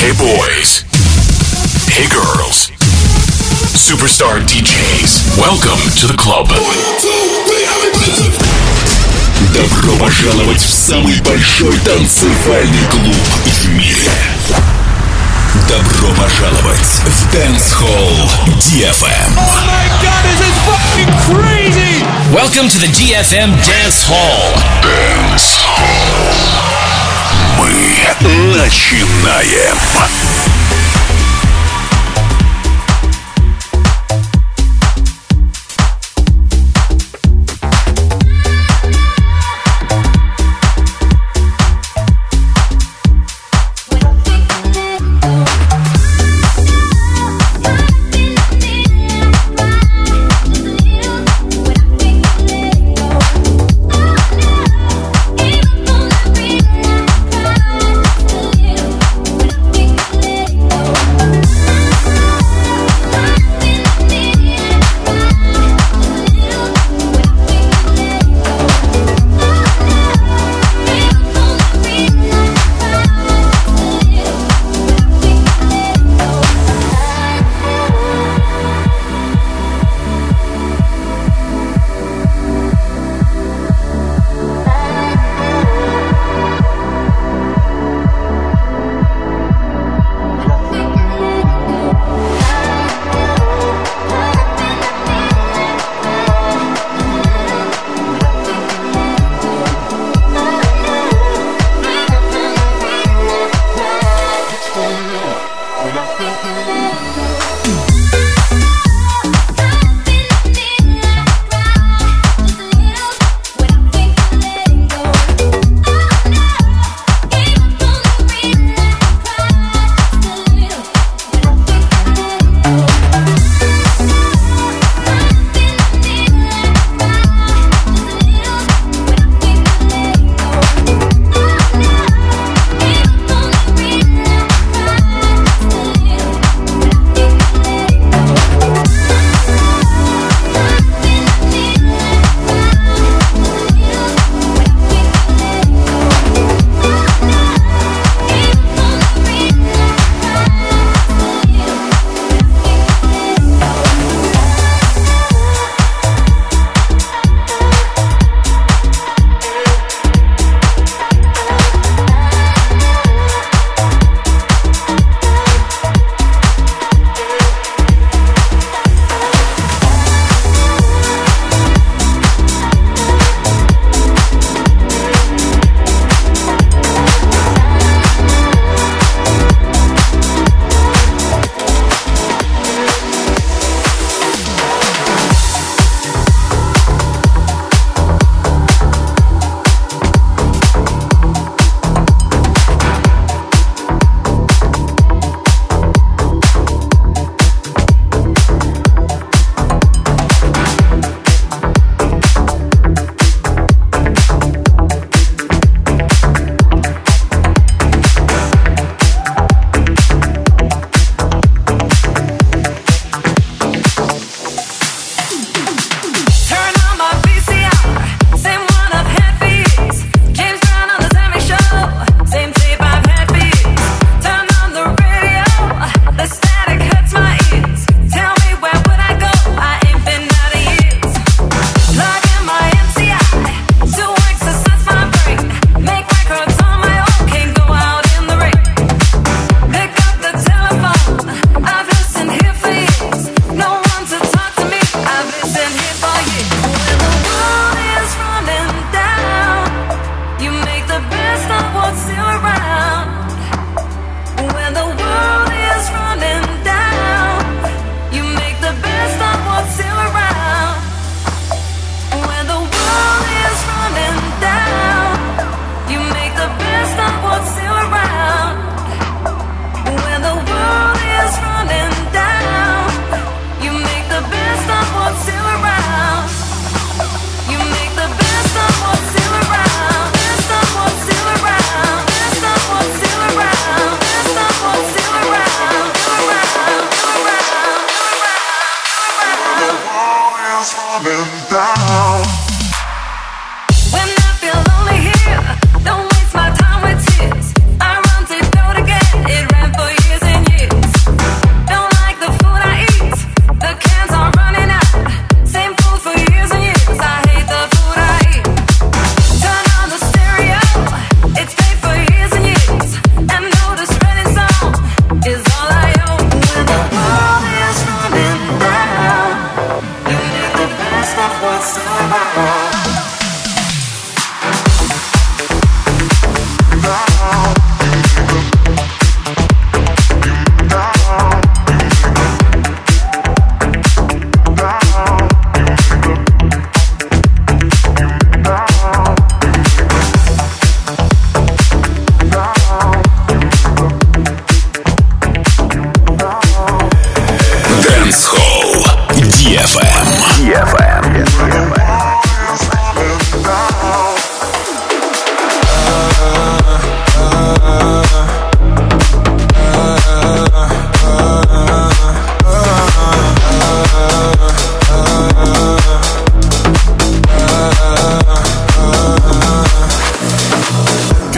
Hey boys. Hey girls. Superstar DJs. Welcome to the club. Добро пожаловать в самый большой танцевальный клуб в мире. Добро пожаловать в Dance Hall DFM. Oh my god, this is fucking crazy! Welcome to the DFM Dance Hall. Dance Hall. Мы начинаем.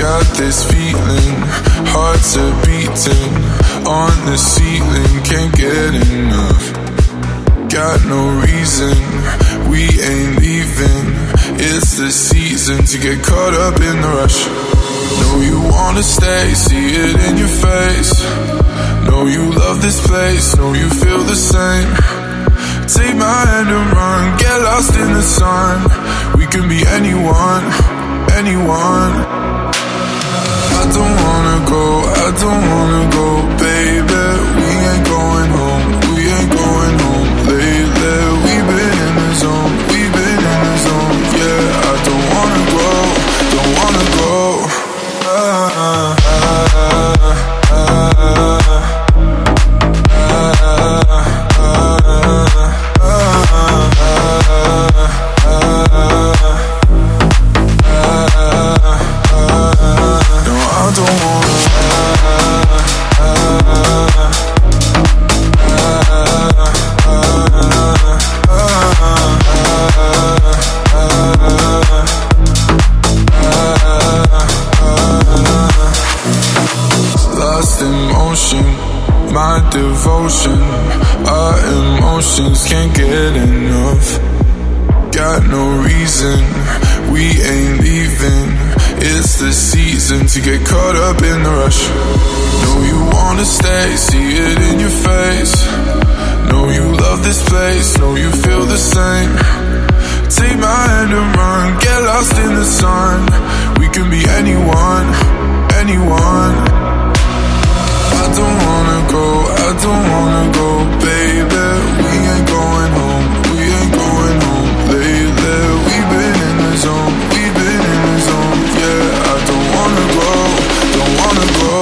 got this feeling, hearts are beating on the ceiling, can't get enough. Got no reason, we ain't leaving. It's the season to get caught up in the rush. Know you wanna stay, see it in your face. Know you love this place, know you feel the same. Take my hand and run, get lost in the sun. We can be anyone, anyone. I don't wanna go, baby. We ain't going home, we ain't going home lately. We've been in the zone, we've been in the zone. Yeah, I don't wanna go, don't wanna go. My devotion, our emotions can't get enough. Got no reason, we ain't leaving. It's the season to get caught up in the rush. Know you wanna stay, see it in your face. Know you love this place, know you feel the same. Take my hand and run, get lost in the sun. We can be anyone, anyone. I don't wanna go, baby. We ain't going home, we ain't going home lately. We've been in the zone, we've been in the zone. Yeah, I don't wanna go, don't wanna go.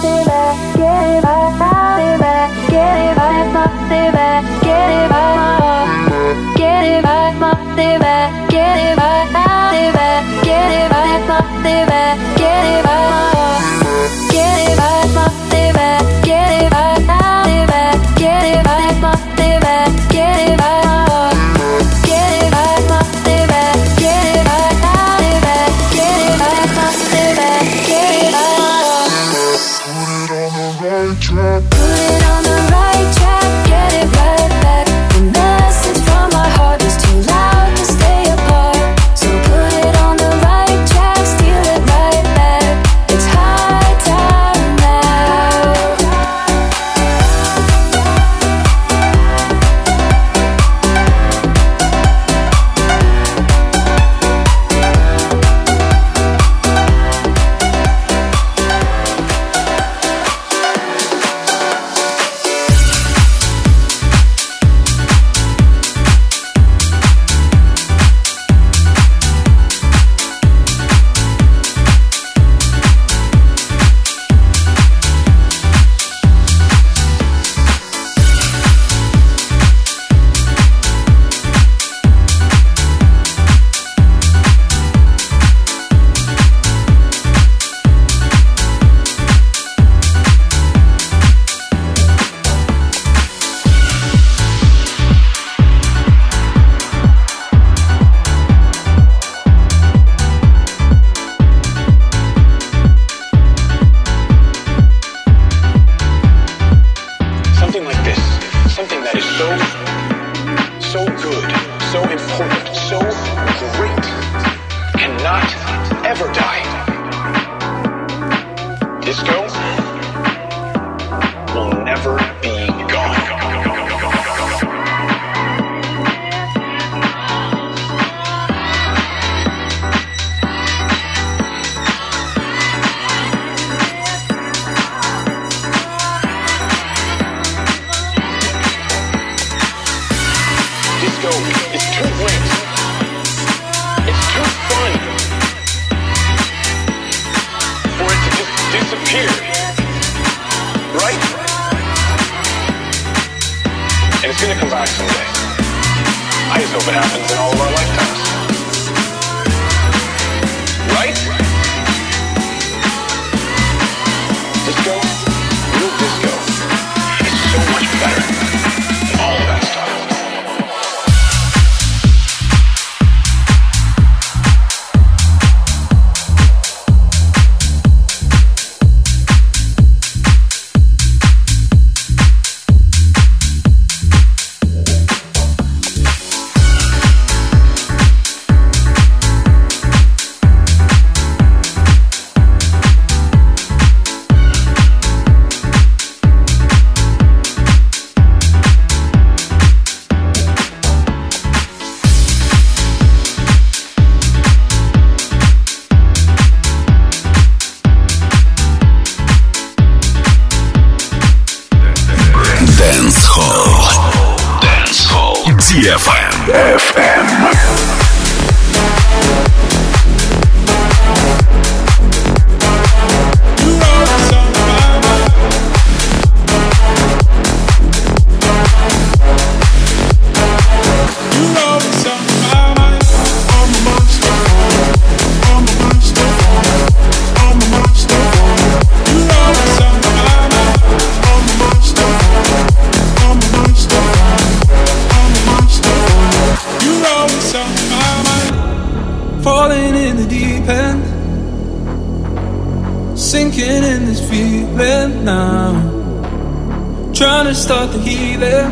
Start the healing,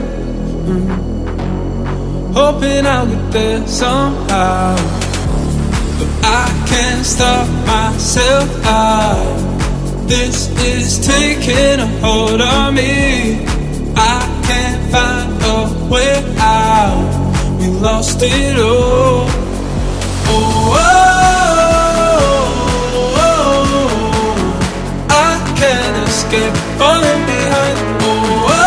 hoping I'll get there somehow, but I can't stop myself. This is taking a hold on me. I can't find a way out. We lost it all. Oh, oh, oh, oh. I can't escape falling behind. Oh, oh.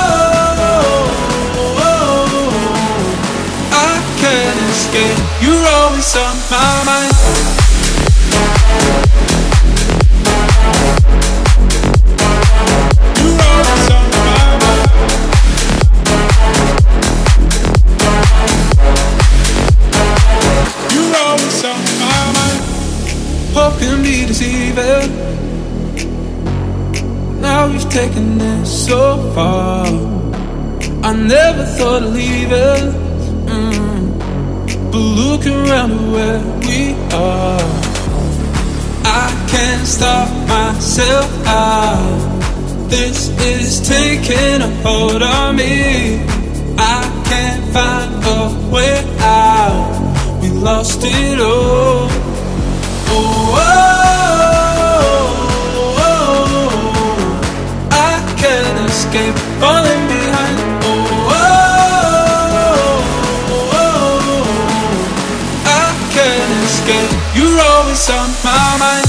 You're always on my mind. hope can be deceiving. Now you've taken it so far. I never thought of leaving, but look around at where we are. I can't stop myself out. This is taking a hold on me. I can't find a way out. We lost it all. Oh, oh, oh, I can't escape falling behind. Oh, oh, oh, I can't escape. You're always on my mind.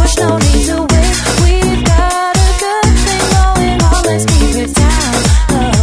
No need to wait. We've got a good thing going on. Let's keep it down.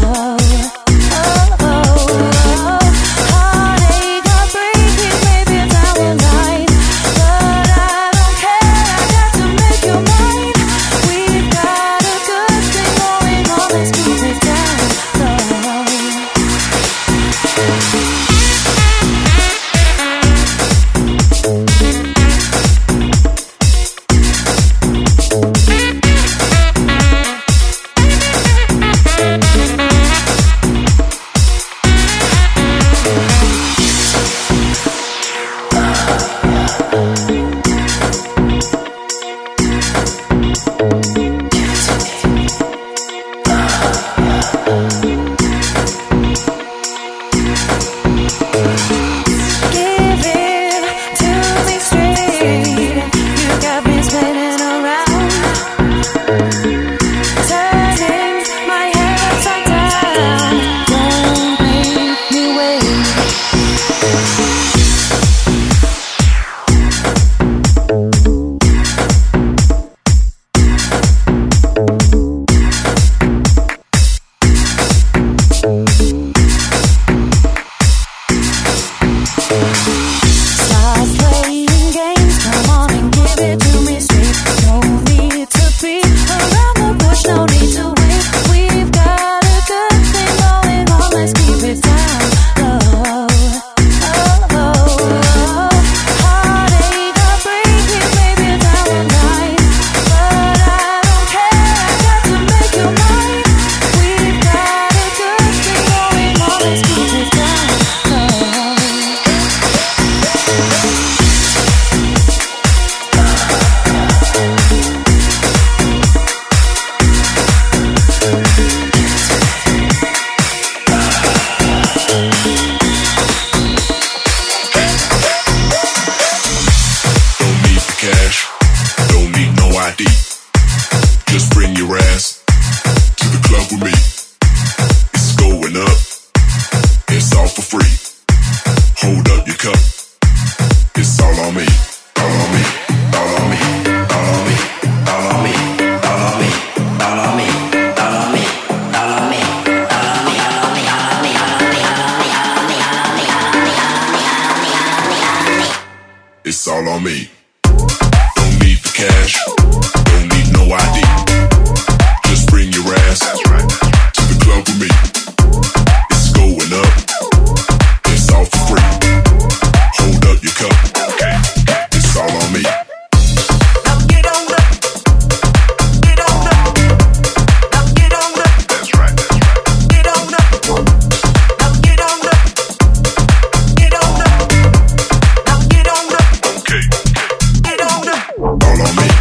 ID. Just bring your ass to the club with me. It's going up, it's all for free. Hold up your cup, it's all on me, all on me, all on me, all on me, all on me, all on me, all on me, all on me, all on me, all on me, all on me, all on me, all on me, all on me, all on me, all on me, all on me, all on me, all on me, all on me. It's all on me. Don't need the cash, don't need no ID. Just bring your ass to the club with me. It's going up, it's all for free. Hold up your cup, it's all on me. Now get on up, get on up, now get on up. That's right, get on up, now get on up, get on up, now get on up. Okay, get on up. All on me,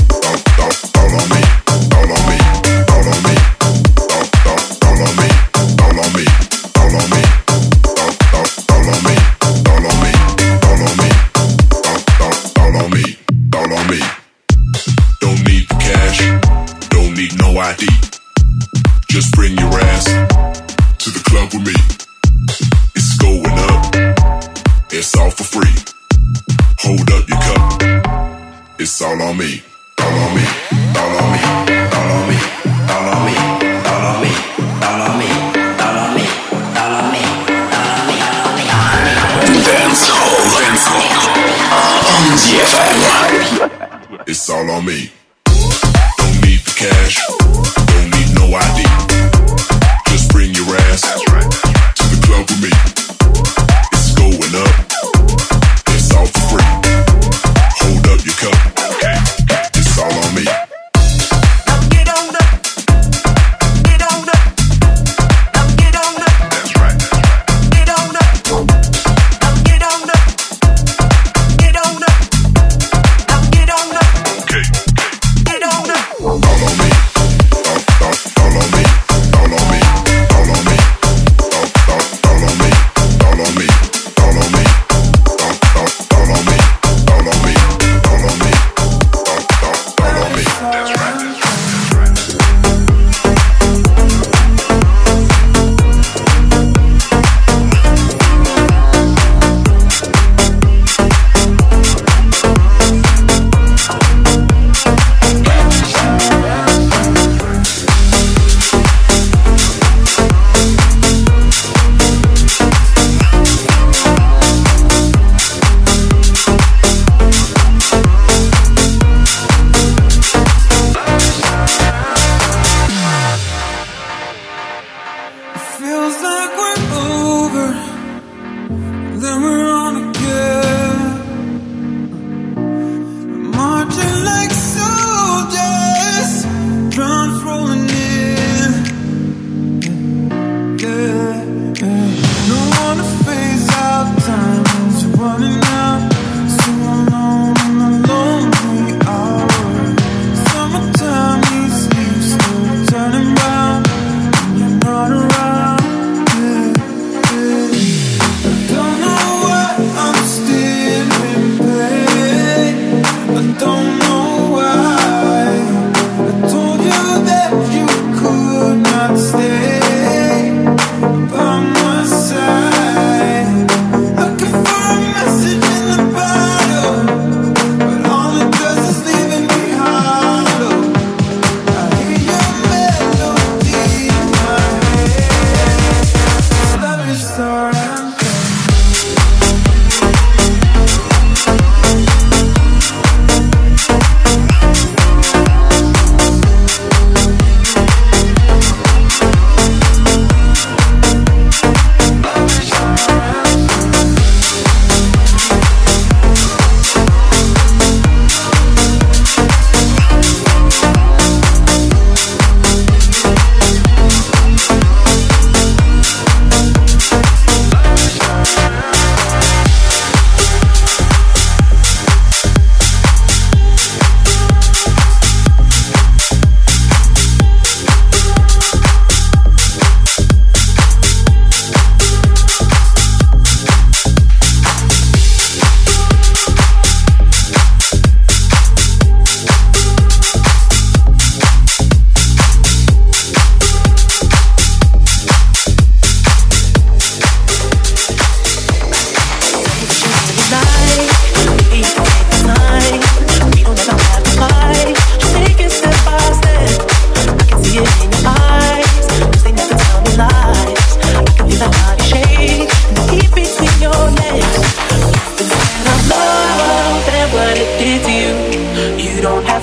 all on me, all on me, all on me, all on me, all on me, all on me, all on me, all on me, all on me, all on me, all on me. Don't need the cash, don't need no ID. Just bring your ass to the club with me. It's going up, it's all for free. Hold up your cup, it's all on me, all on me, all on me, all on me, all on me, all on me, all on me, all on me, all on me, all on me, all on me, all on me. Dance Hall on DFM. It's all on me. Don't need the cash, don't need no ID. Just bring your ass to the club with me. It's going up, it's all for free. Hold up your cup, it's all on me. Now get on up, get on up, now get on up. That's right, get on up, now get on up, get on up, now get on up. Okay, get on up. All on me, all on me, all on me, all on me, all on me, all on me, all on me, all on me.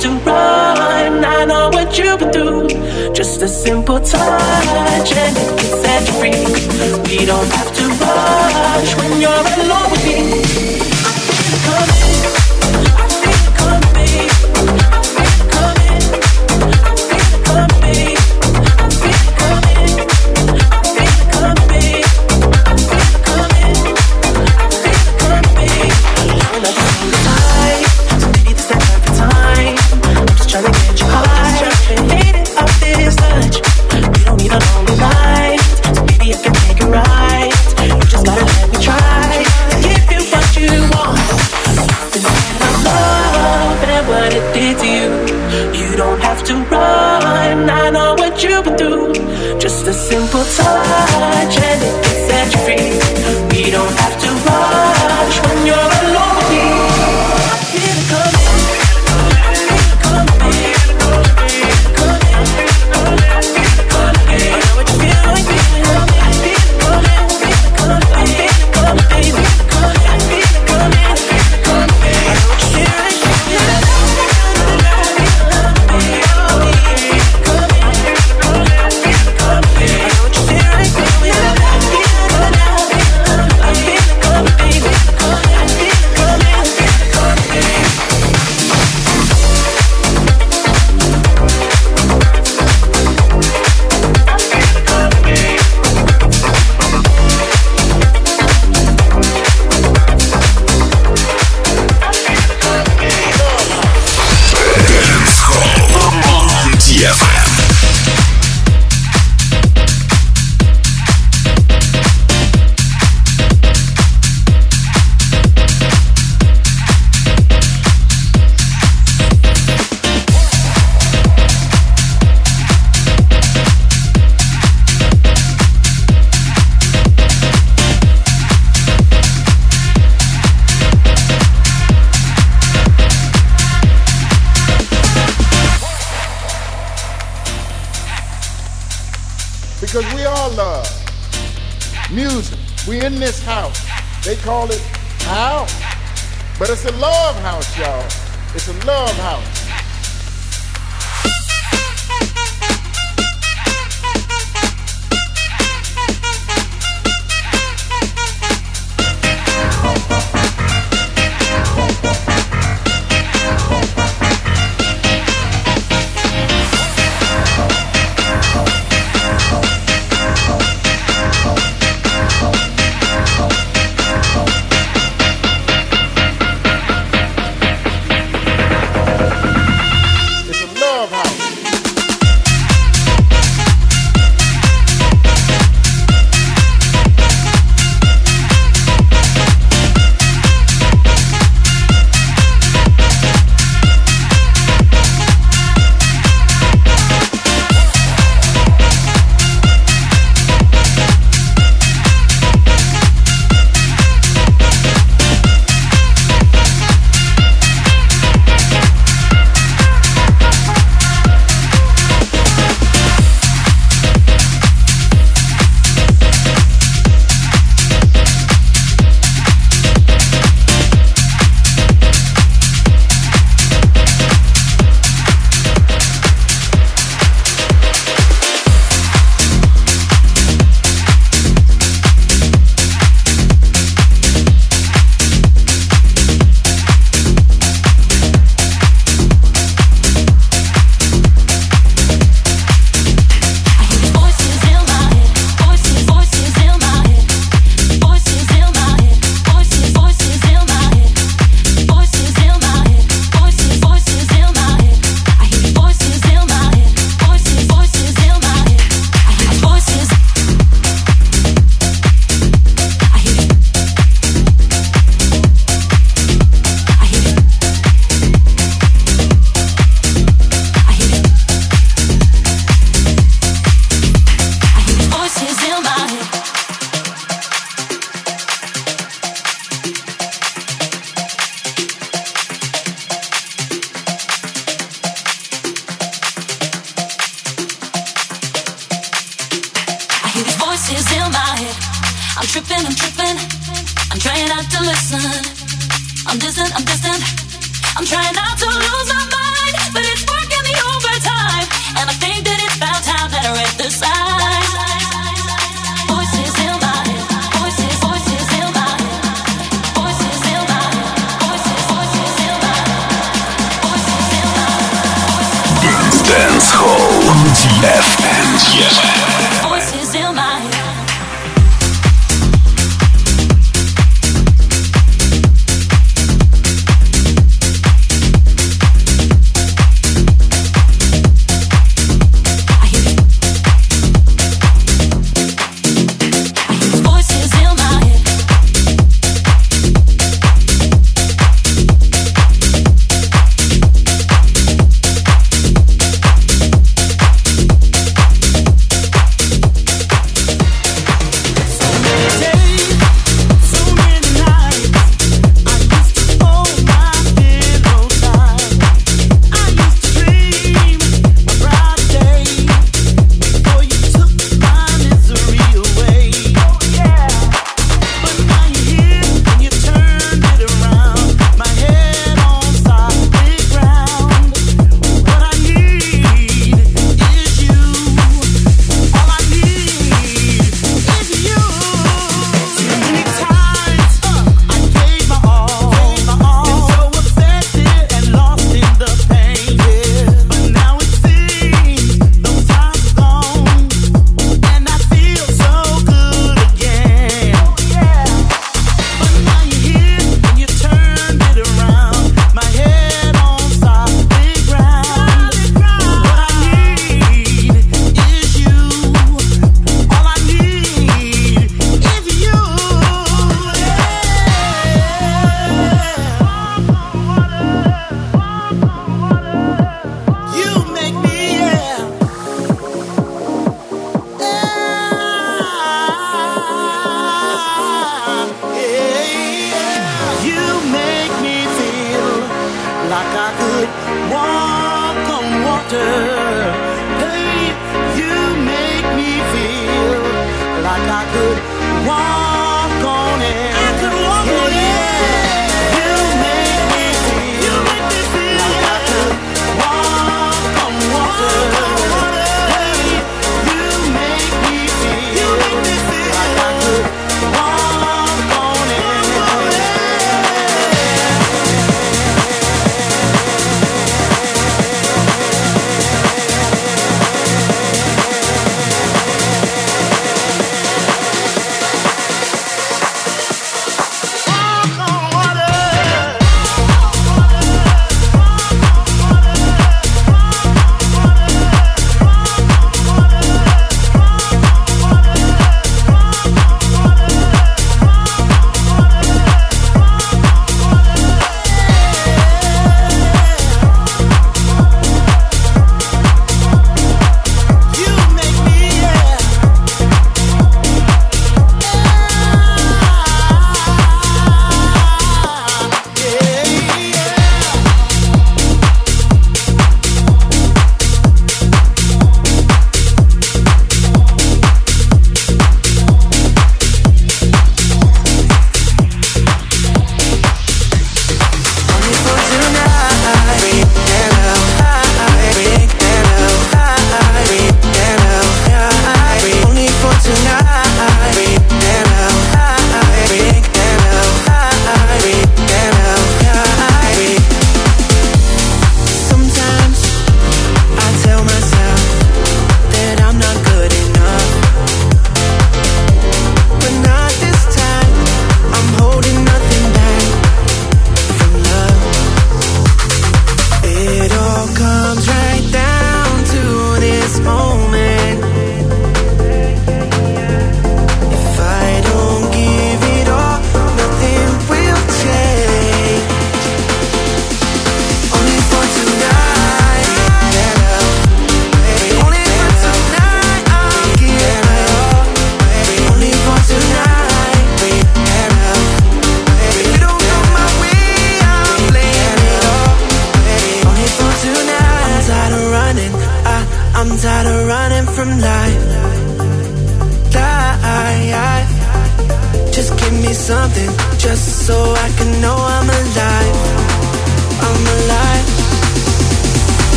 to run. I know what you've been through. Just a simple touch and it can set you free. We don't have to rush when you're alone with me. I feel it coming. I feel it coming, babe. I feel it coming. I feel it coming, babe. I feel it coming. I feel it coming, babe. I feel it coming. I feel it coming, babe. We're not the time, so maybe this is the perfect time. I'm just trying to get you high. Hate it off this touch. We don't need a lonely night, so maybe I can make it right. You just gotta let me try. Give you what you want. Instead of love and what it did to you. You don't have to run. I know what you've been through. Just a simple touch and it can set you free. We don't have to rush when you're alone with me. I feel it coming. I feel it coming, babe. I feel it coming. I feel it coming, babe. I know what you feel like feeling. I feel it coming. I feel it coming, babe. I feel it coming, babe. I feel it coming. I feel it coming, babe. I know what you feel like feeling. I feel it coming, babe. I feel it coming, babe. I feel it coming, babe. I know what you feel like feeling. I feel it coming. I feel it coming, babe. I feel it coming, babe. on DFM. Because we all love music. We in this house. They call it a house. But it's a love house, y'all. It's a love house. tripping, I'm trying not to listen. I'm distant, I'm trying not to lose my mind. Dance Hall on DFM. Voices in my head.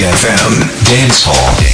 GFM Dance Hall.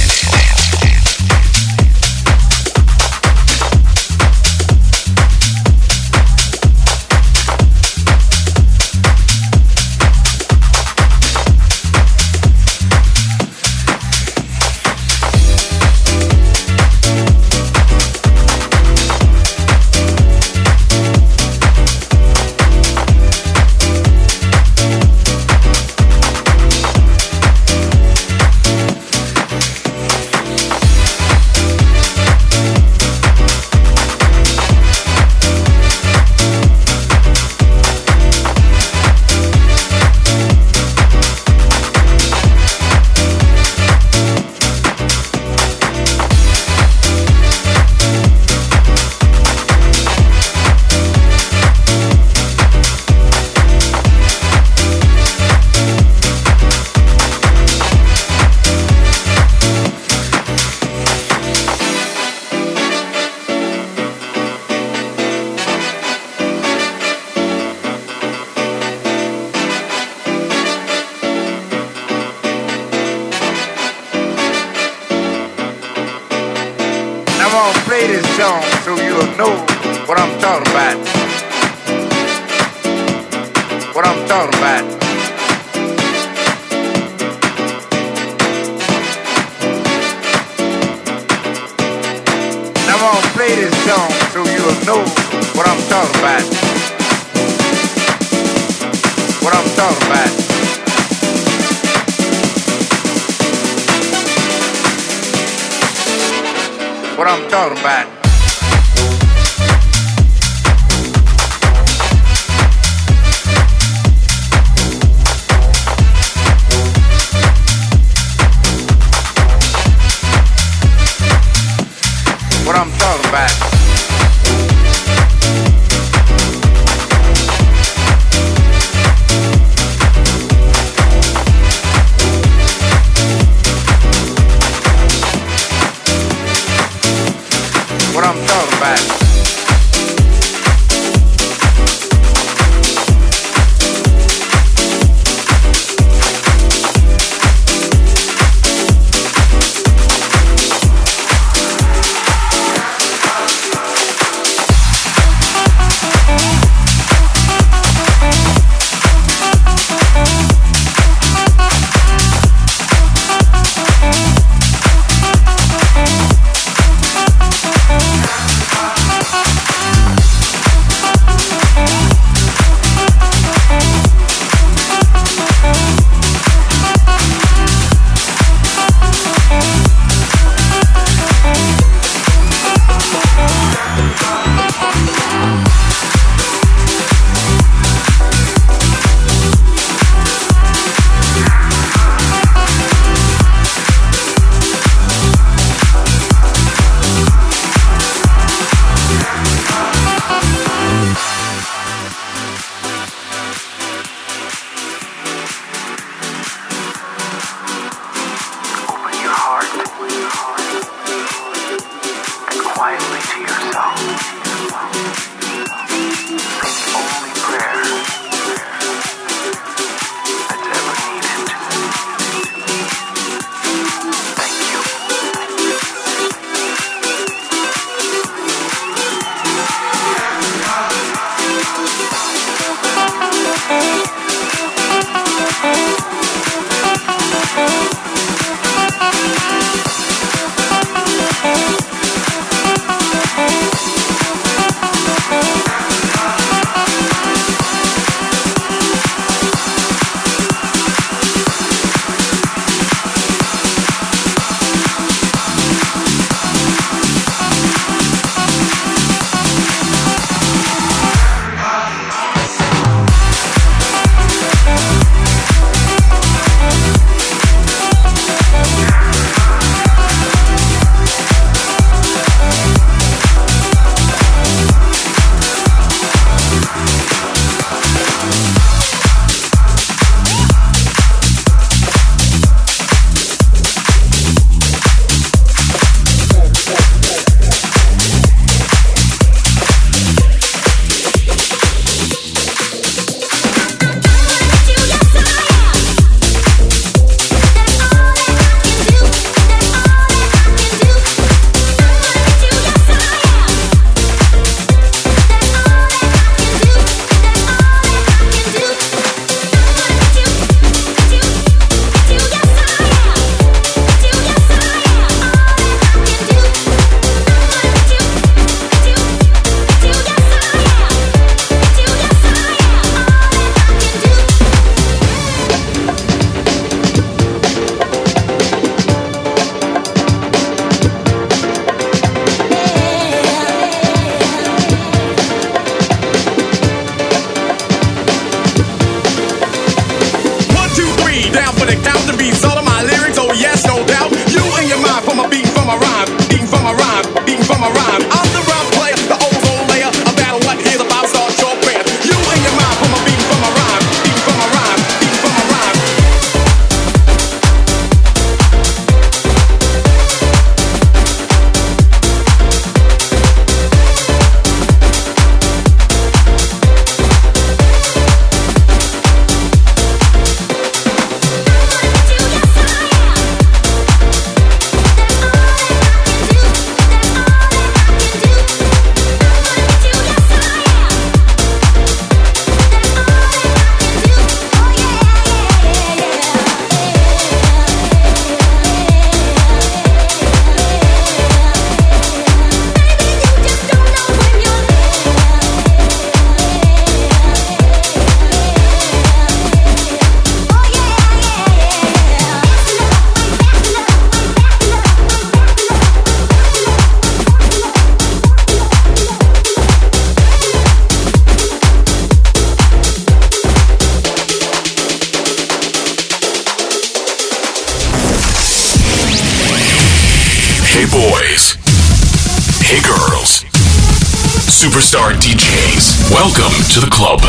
Superstar DJs. Welcome to the club.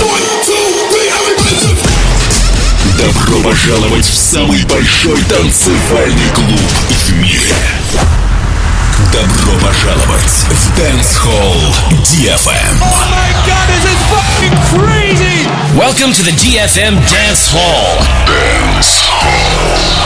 Добро пожаловать в самый большой танцевальный клуб в мире. Добро пожаловать в Dance Hall DFM. Oh my God, this is fucking crazy! Welcome to the DFM Dance Hall. Dance Hall.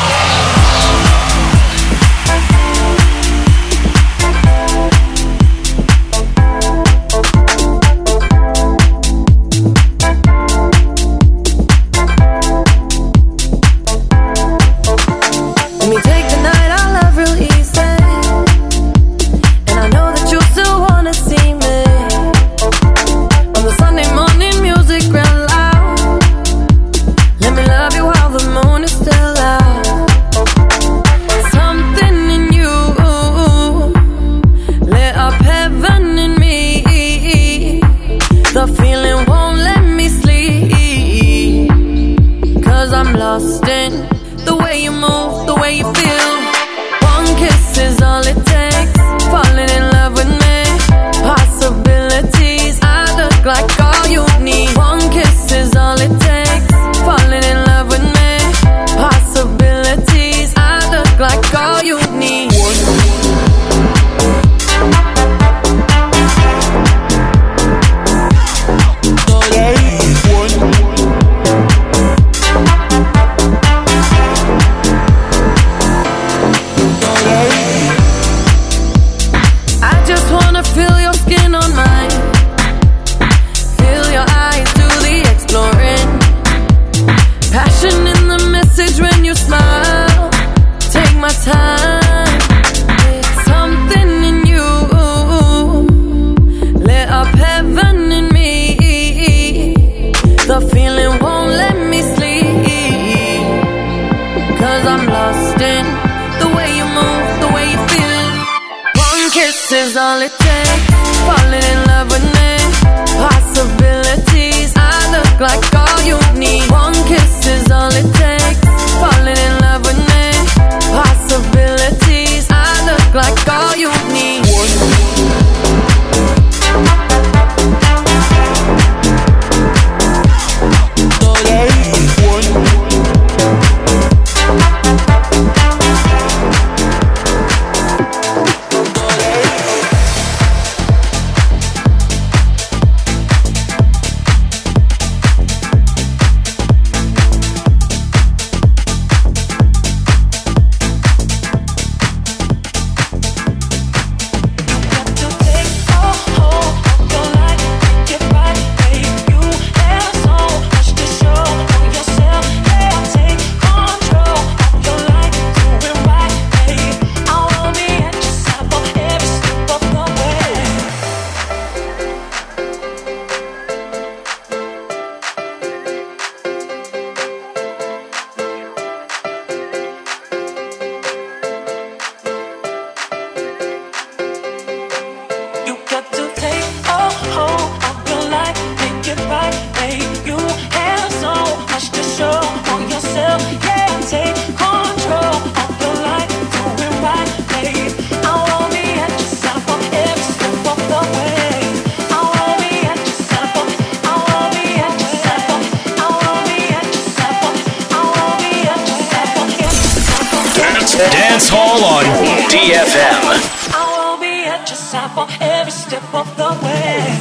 Dance Hall on DFM. I will be at your side for every step of the way.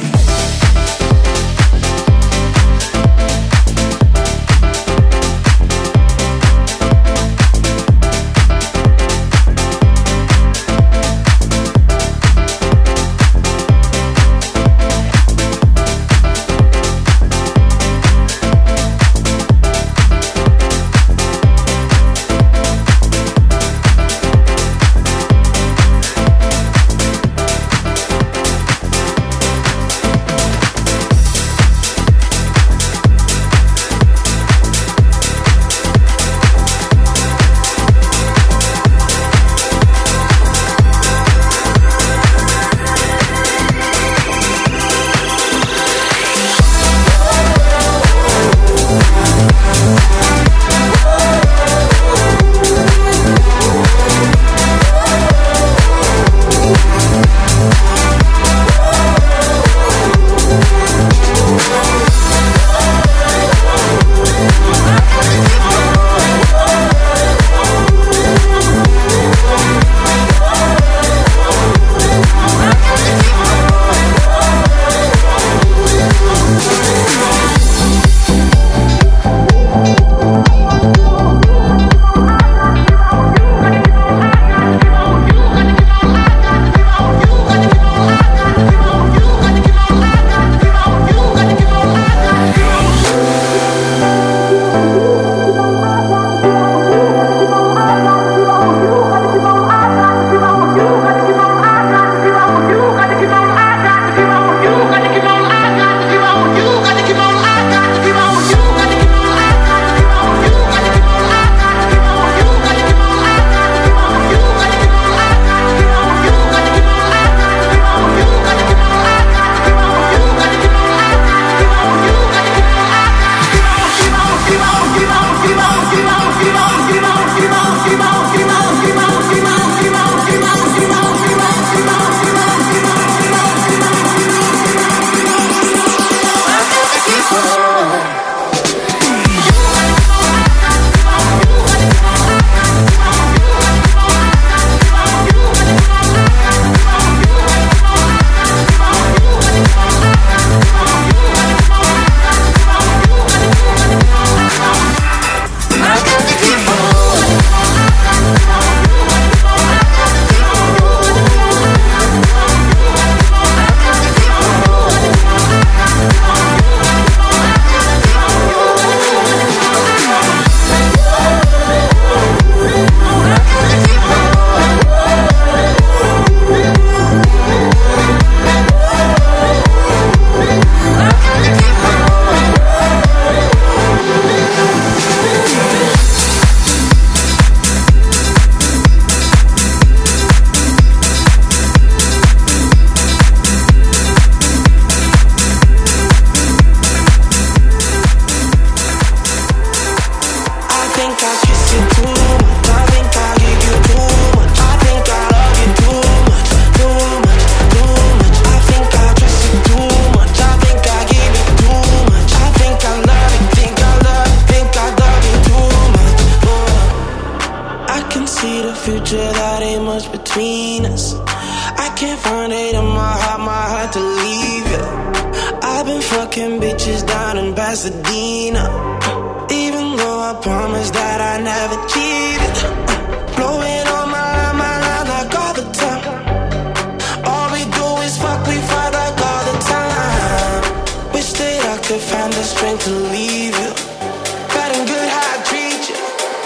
fucking bitches down in Pasadena. Even though I promised that I never cheated. Blowing on my line like all the time. All we do is fuck, we fight like all the time. Wish that I could find the strength to leave you. Bad and good how I treat you.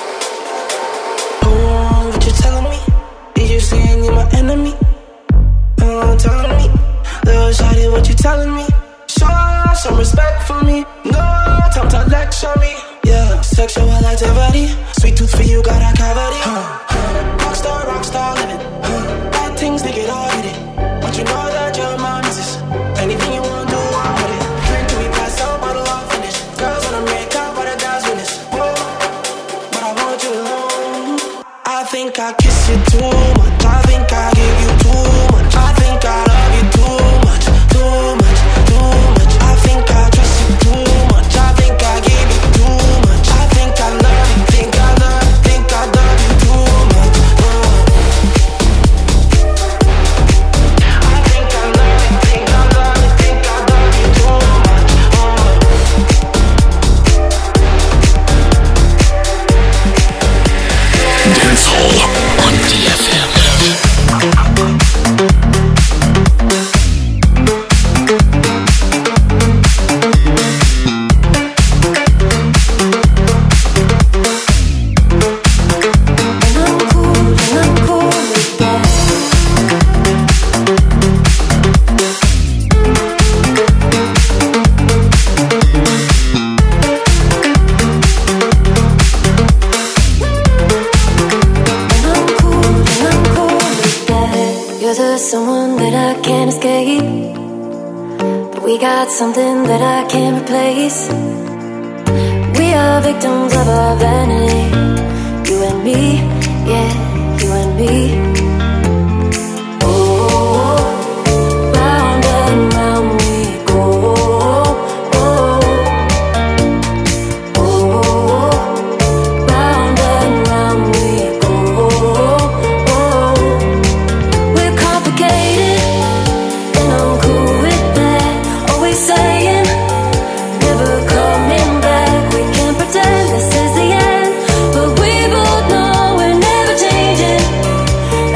Oh, what you telling me? Did you say you're my enemy? Oh, telling me. Little shawty, what you telling me? Show some respect for me. No time to lecture me. Yeah, sexual activity. Sweet tooth for you, got a cavity. Rockstar living. Bad things, they get all hit it. But you know that your mom is this. Anything you want to do, I'm with it. Drink till we pass out, bottle all finish. Girls wanna make out, but the guys witness. Whoa, but I want you alone. I think I kiss you too much. I think I give you too much. I think I love you too much. Too much, too much. I think I trust you too much. I think I give you too much. I think I love you. Think I love you too much. I think I love you. Think I love you. Think I love you too much. Dance Hall on DFM. Someone that I can't escape, but we got something that I can't replace. We are victims of our vanity, you and me, yeah, you and me. Oh, round and round we go. Oh, round and round we go. And I'm cool with that. Always saying, never coming back. We can't pretend this is the end, but we both know we're never changing.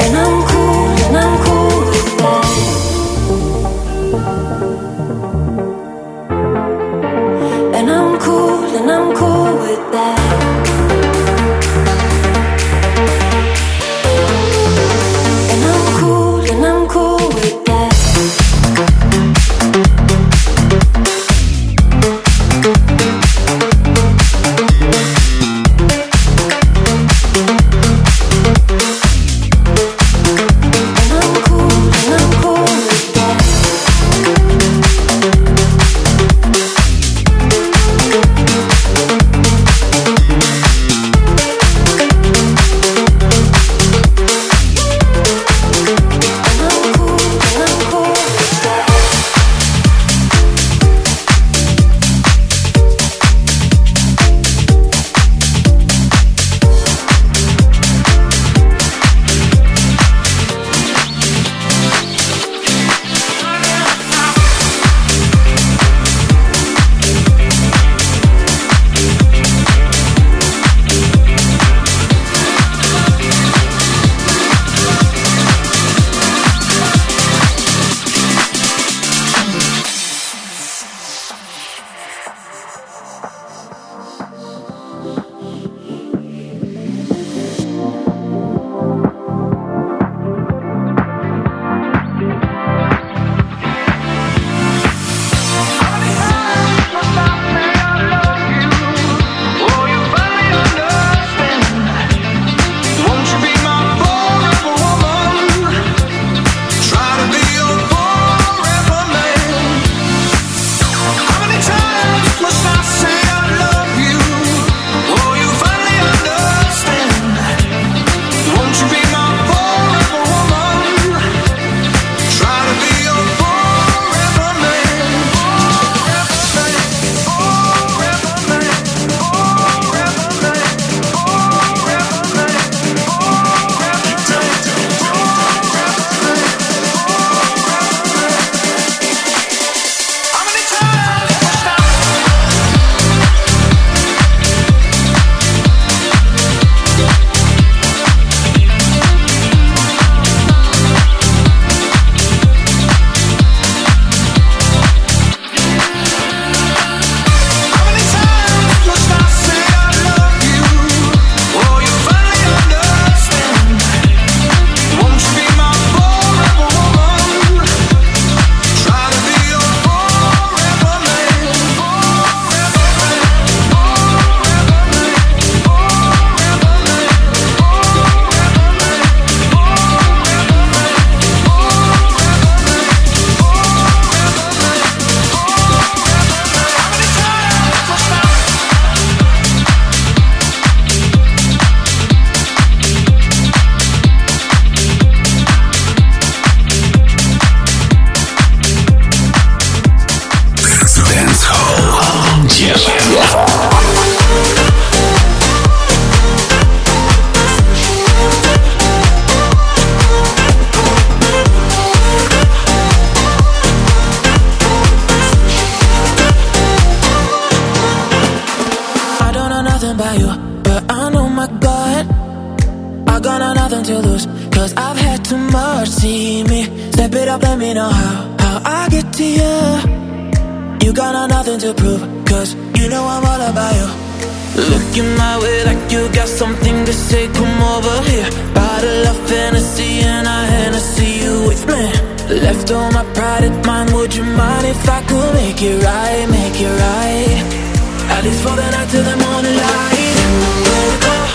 close, cause I've had too much. See me, step it up, let me know how I get to you. You got nothing to prove, cause you know I'm all about you. Looking my way like you got something to say, come over here. Bottle of Hennessy and I Hennessy you with me. Left all my pride at mine, would you mind if I could make it right, make it right? At least for the night till the morning light. Where to go?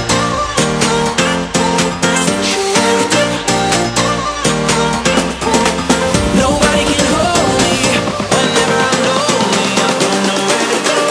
Nobody can hold me whenever I'm lonely. I don't know where to go.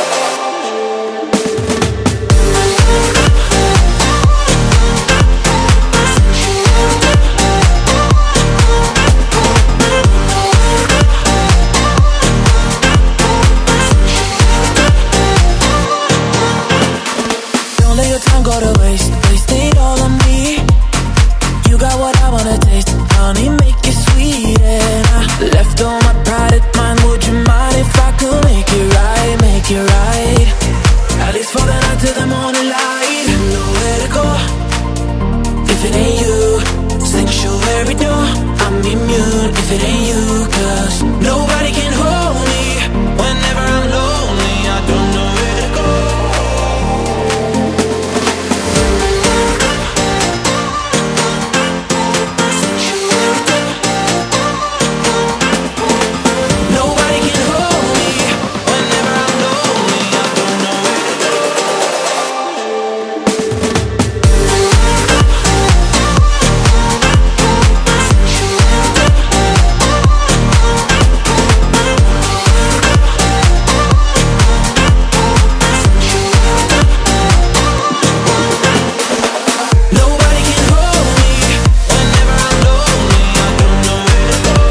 Don't let your time go to waste. Waste it all on me. You got what I wanna taste. Honey, make it sweet. And I left all my pride at mine. Would you mind if I could make it right, make it right? At least for the night till the morning light. Nowhere to go if it ain't you. Sanctuary door, I'm immune if it ain't you. Cause nobody can hold me whenever I'm lonely. I don't know where to go. Nobody can hold me whenever I'm lonely. I don't know where to go. Nobody can hold me whenever I'm lonely. I don't know where to go.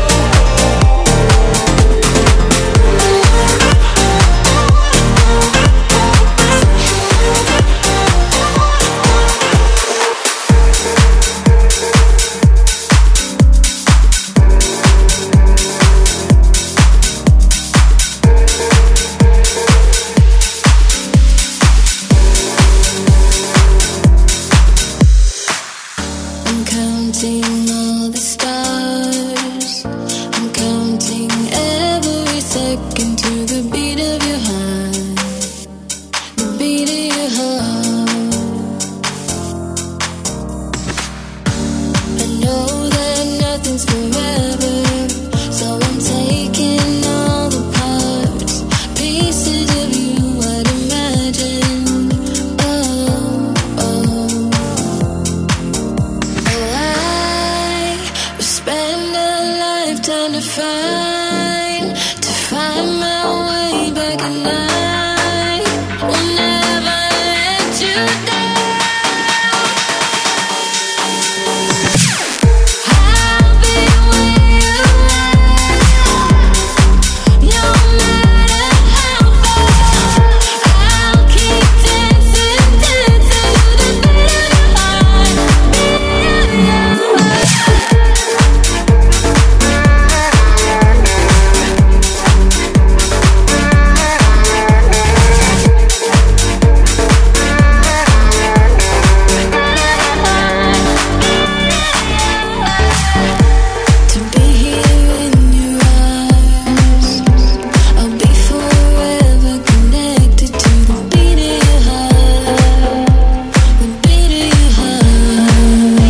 I'm counting all the stars. I'm counting every second to the beat of your heart. The beat of your heart. I know that nothing's forever, so I'm taking all the parts, pieces of you I'd imagine. Oh, oh. I will spend a lifetime to find my way back at night. Will never let you down. I'll be where you are, no matter how far. I'll keep dancing, dancing to the beat of your heart, beat of your heart. To be here in your arms, I'll be forever connected to the beat of your heart, the beat of your heart.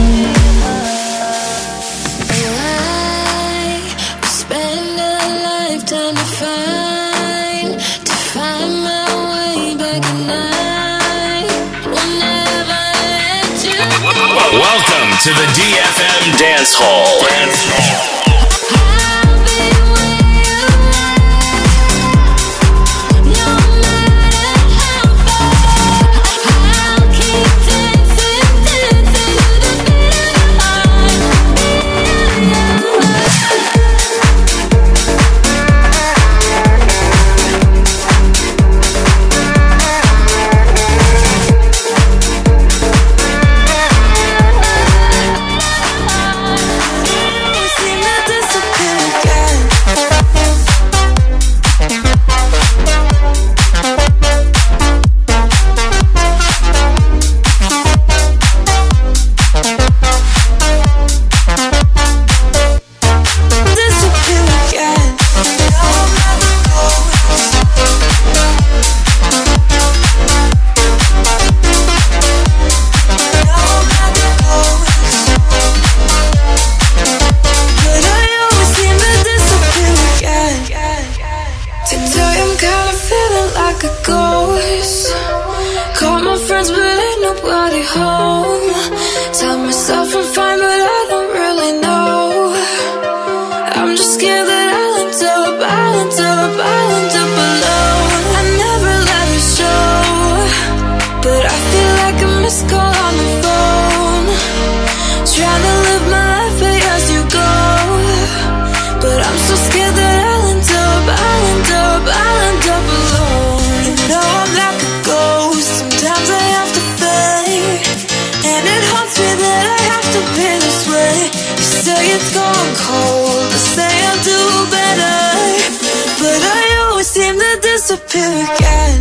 I will spend a lifetime to find my way back at night. Will never let you Welcome to the DFM Dance Hall. I'll be where you are, no matter how far. I'll keep dancing, dancing to the beat of your heart, beat of your heart. We see just scared that I'll end up alone. I never let it show, but I feel like a missed call on the phone. Trying to live my life as you go, but I'm so scared that I'll end up alone. You know I'm like a ghost, sometimes I have to fade, and it haunts me that I have to be this way. You say it's gone cold, I say I'll do better, but I always seem to disappear again.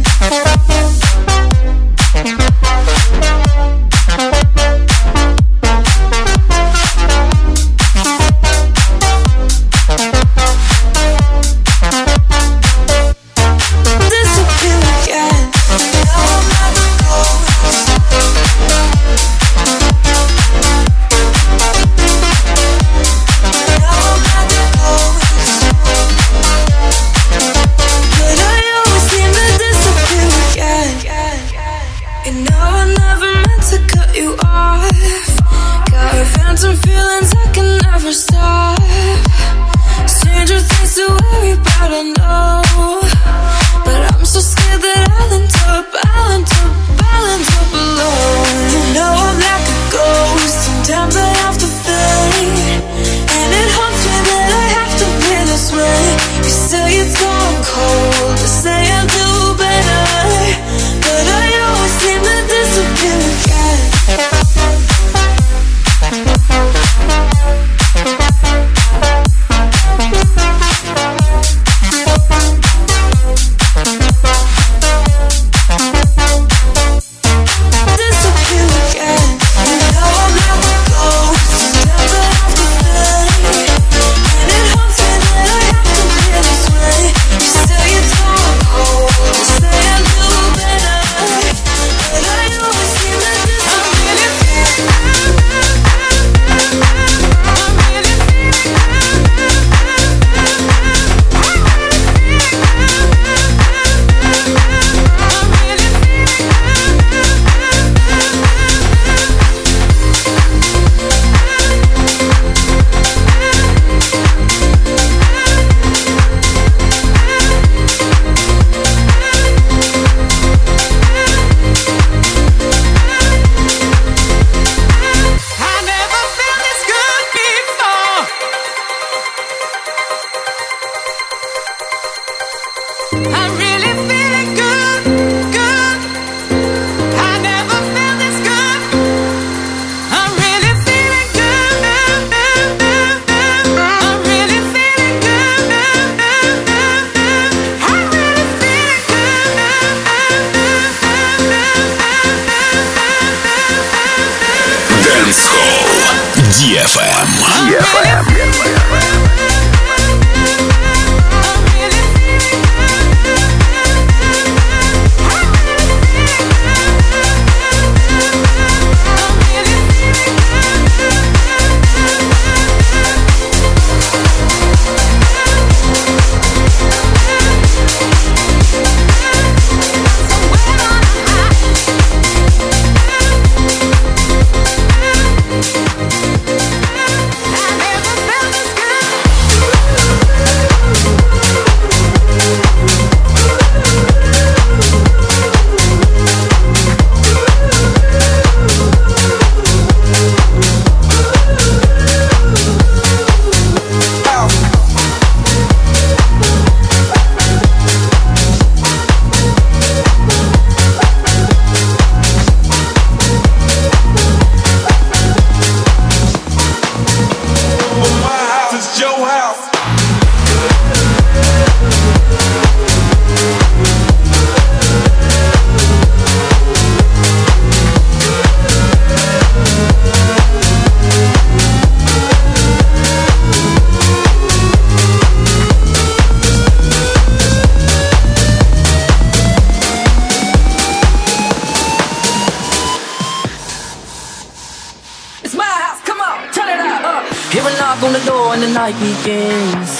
knock on the door and the night begins.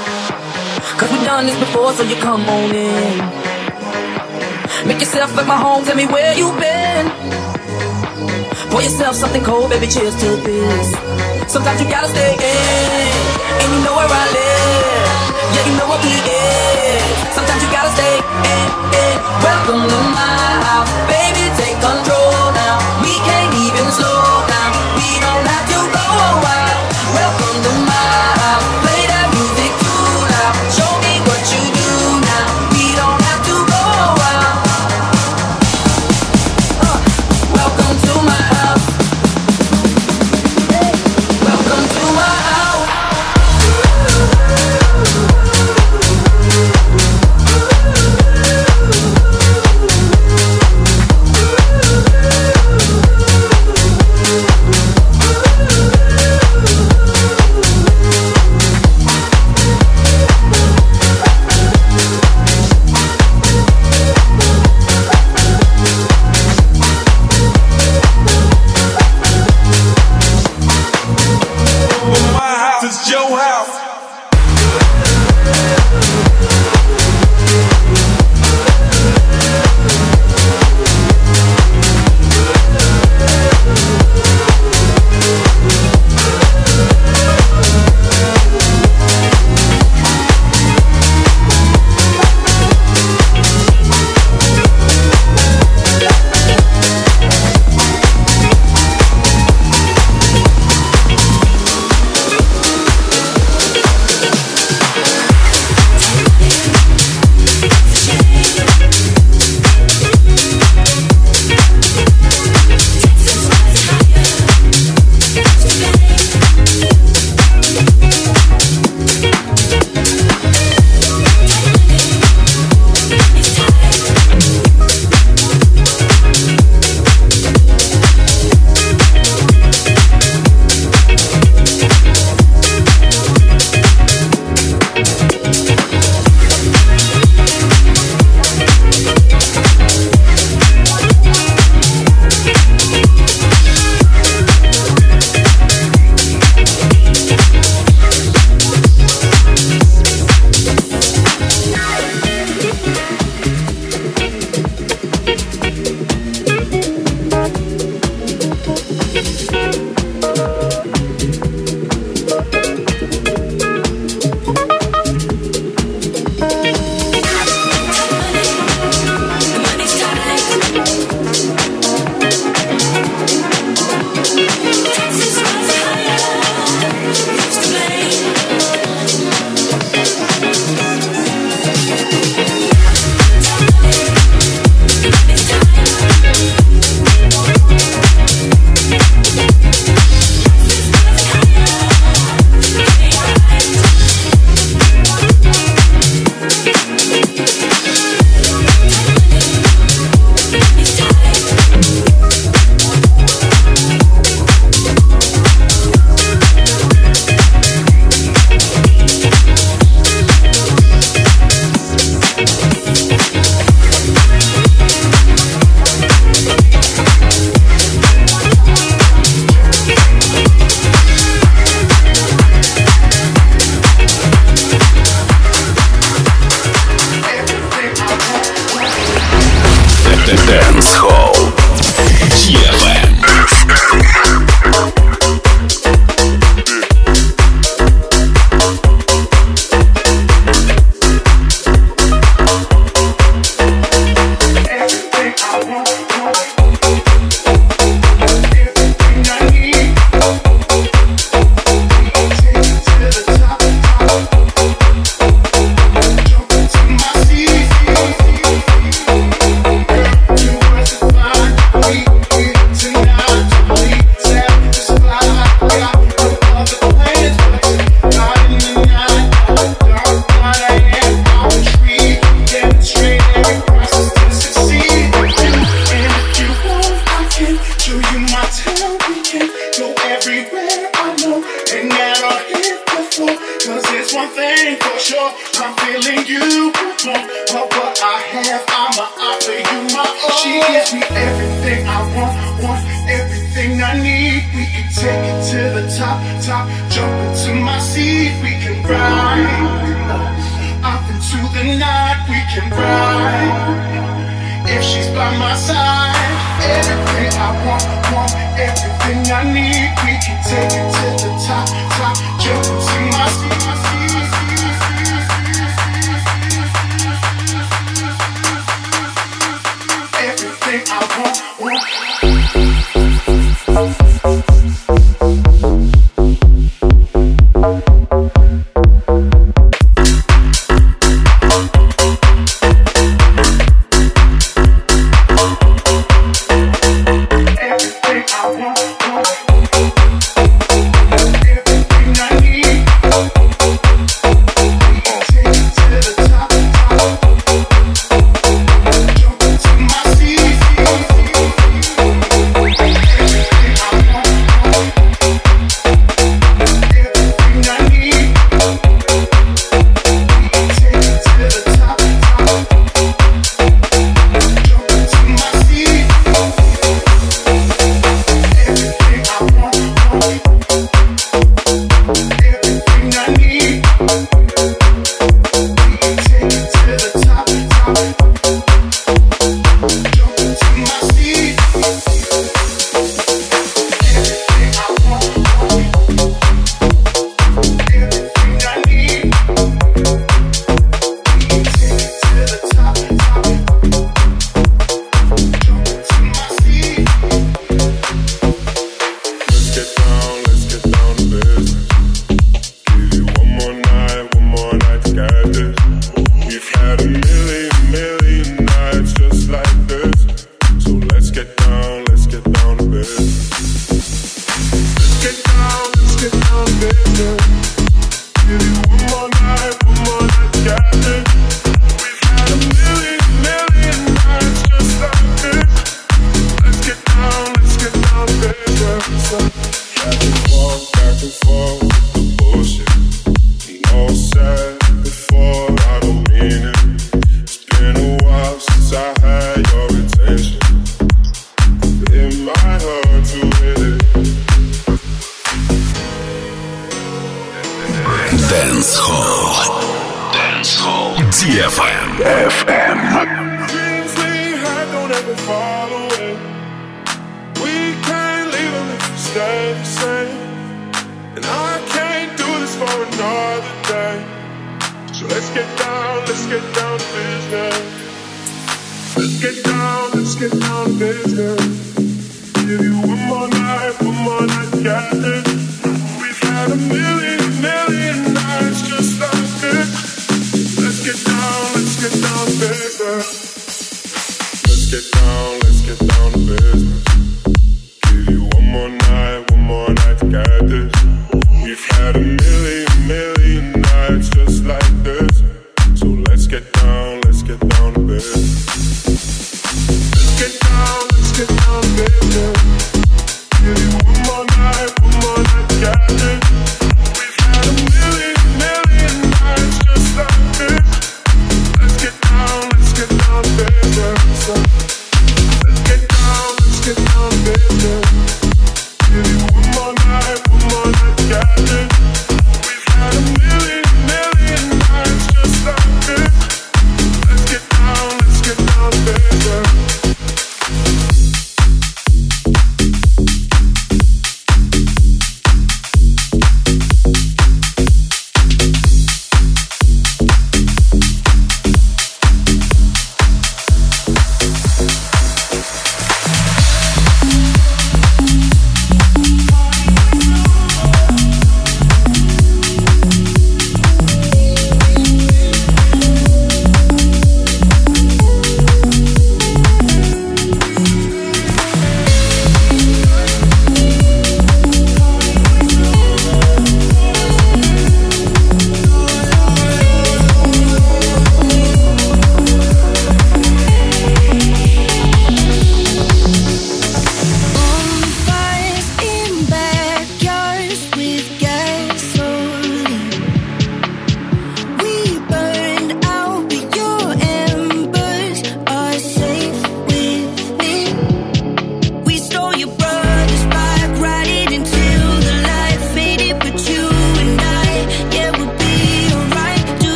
'Cause we've done this before, so you come on in. Make yourself at my home, tell me where you've been. Pour yourself something cold, baby, cheers to this. Sometimes you gotta stay in. and you know where I live. Yeah, you know what we is. Sometimes you gotta stay in. Welcome to my house, baby, take control now. We can't even slow down. We don't have to go a while. Welcome to my house, play that music too loud. Show me what you do now. We don't have to go a while. Welcome to my house. Welcome to my house. It's your house. Dancehall DFM. Everything I need, we can take it to the top, jump into my seat. Dance Hall DFM. Dreams we had don't ever fall away. We can't leave them if we stay the same. And I can't do this for another day. So let's get down to business. Let's get down to business. Give you one more night, got this. We've had a million nights just like this. Let's get down to business. Let's get down to business. Give you one more night, got this. We've had a million nights just like this. So let's get down to business. Let's get down to business. Give you one more night, got this. We've had a million nights just like this. Let's get down to business. Let's get down to business. Give you one more night, got this. We've had a million nights just like this. Let's get down to business.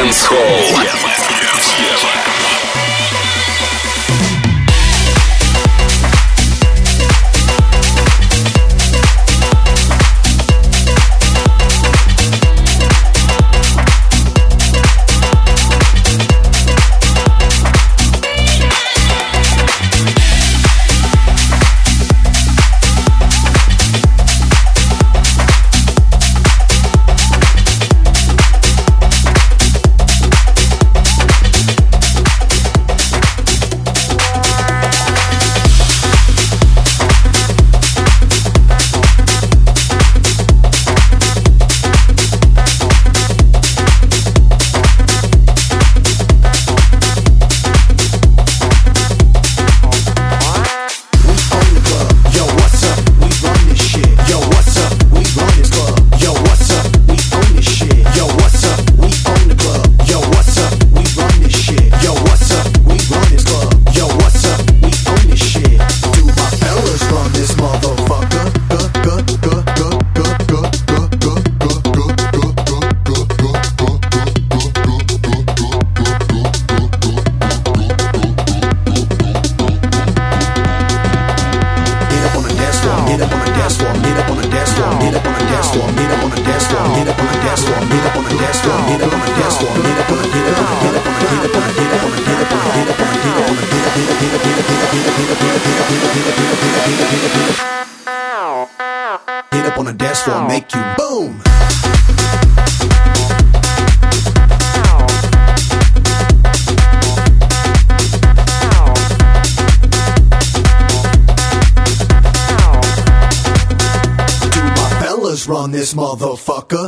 Dance Hall. Run this motherfucker.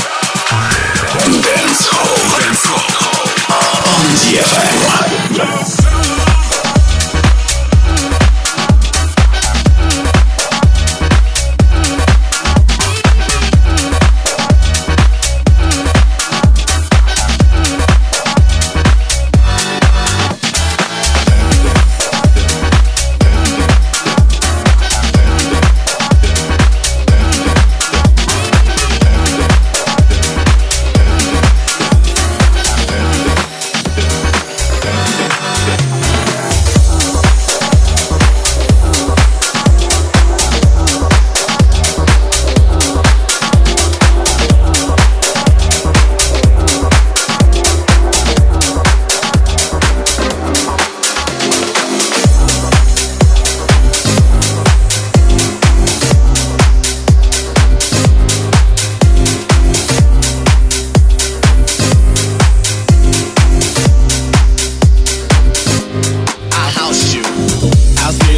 Dance Hall on DFM.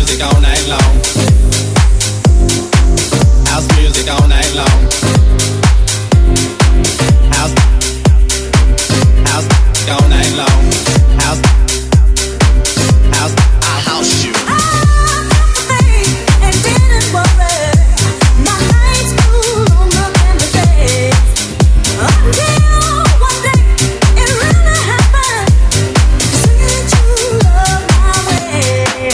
music all night long. House music all night long. House all night long. House, I house you. And didn't worry. My nights grew longer than the days. Until one day it really happened. Singing true love my way.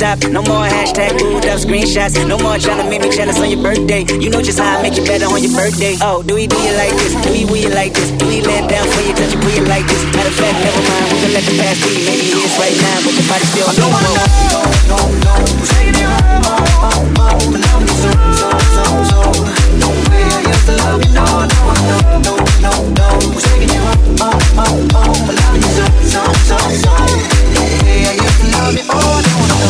top. No more hashtag booed up screenshots. No more trying to make me jealous on your birthday. You know just how I make you better on your birthday. Oh, do we do you like this? Do we will you like this? Do we let down for you, touch you, put you like this? Matter of fact, never mind, we can let the past be. Maybe it is right now, but your body still no, no, taking it home, but now we so. No way I used to love you, no, taking it home, but now we so. No way I used to love you, oh,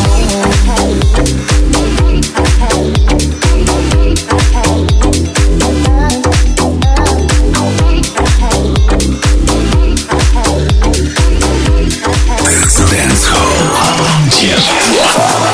Dance Hall.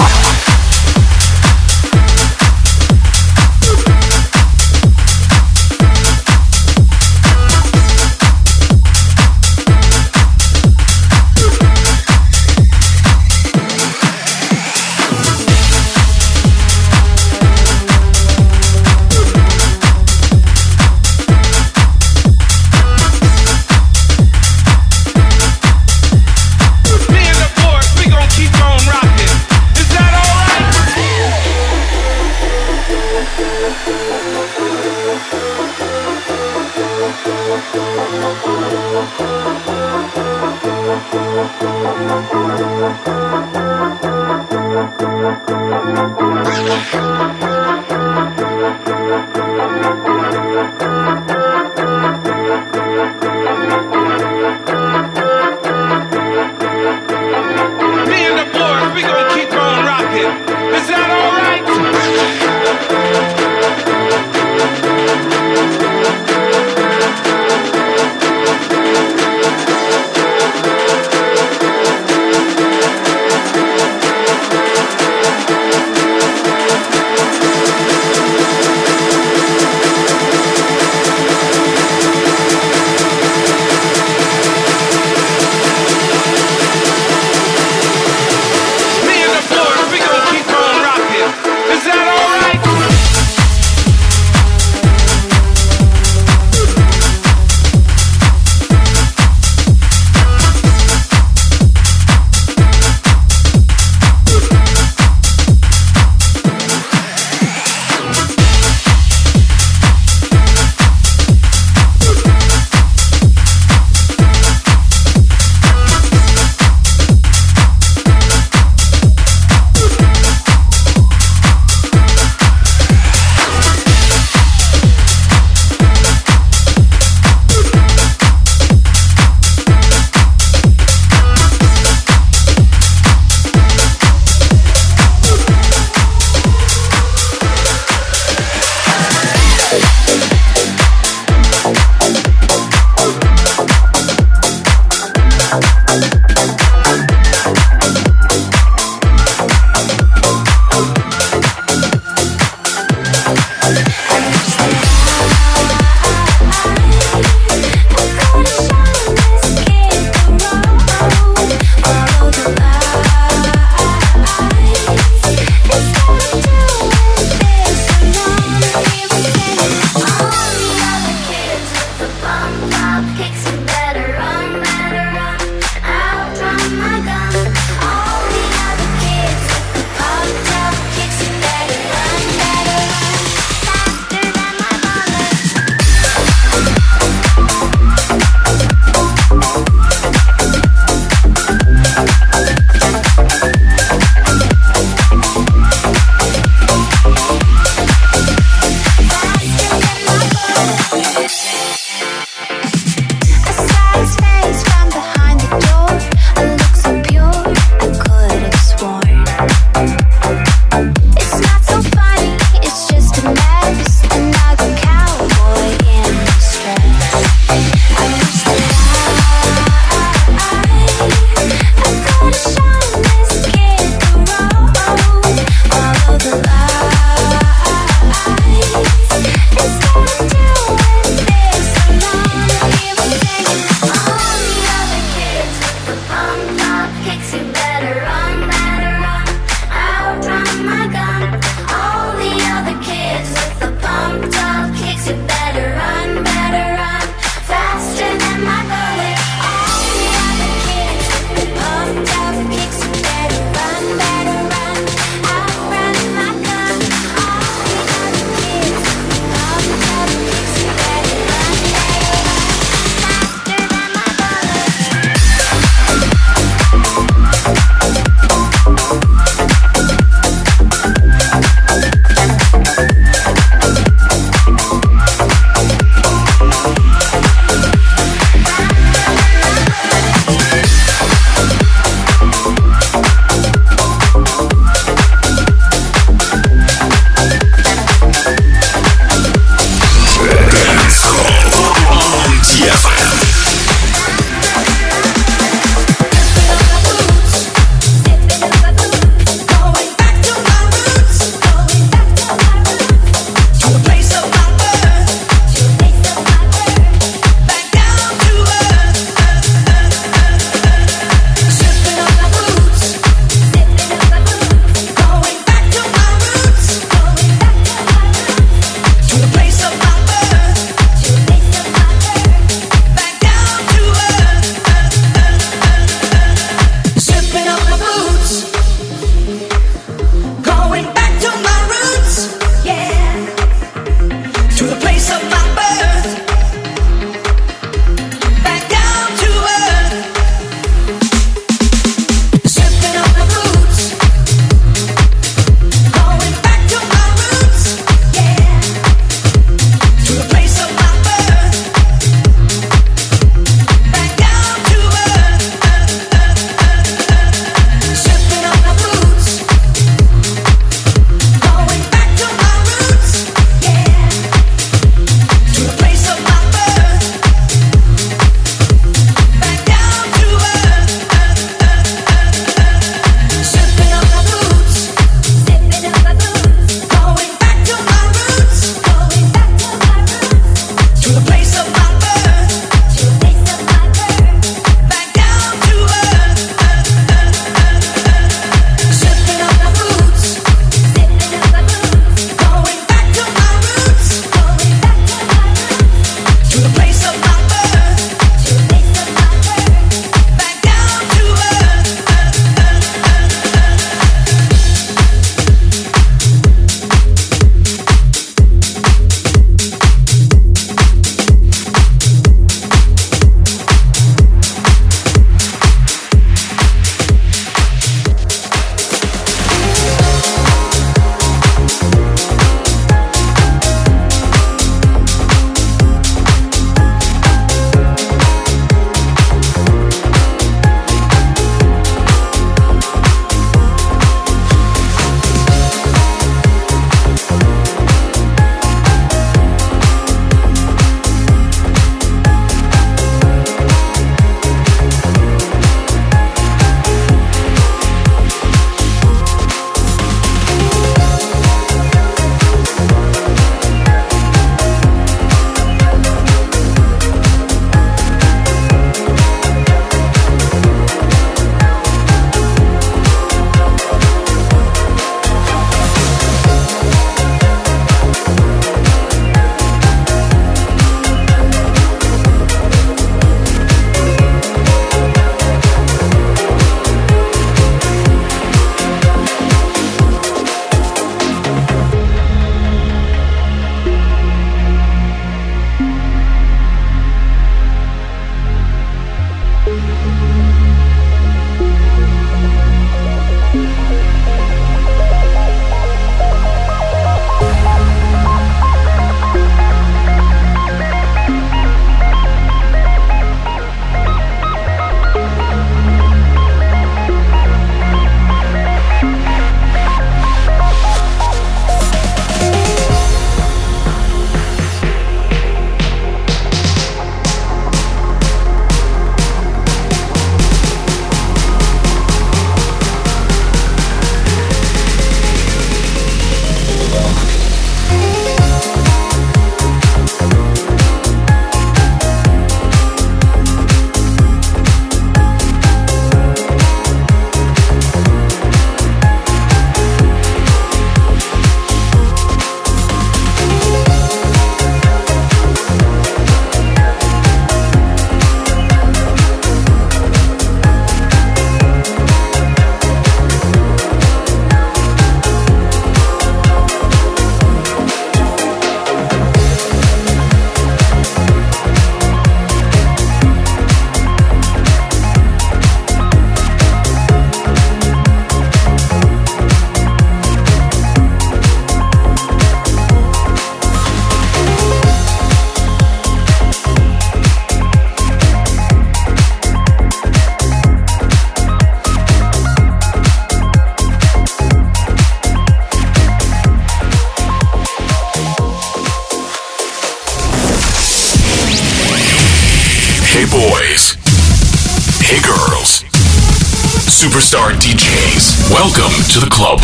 Hey boys. Hey girls. Superstar DJs. Welcome to the club.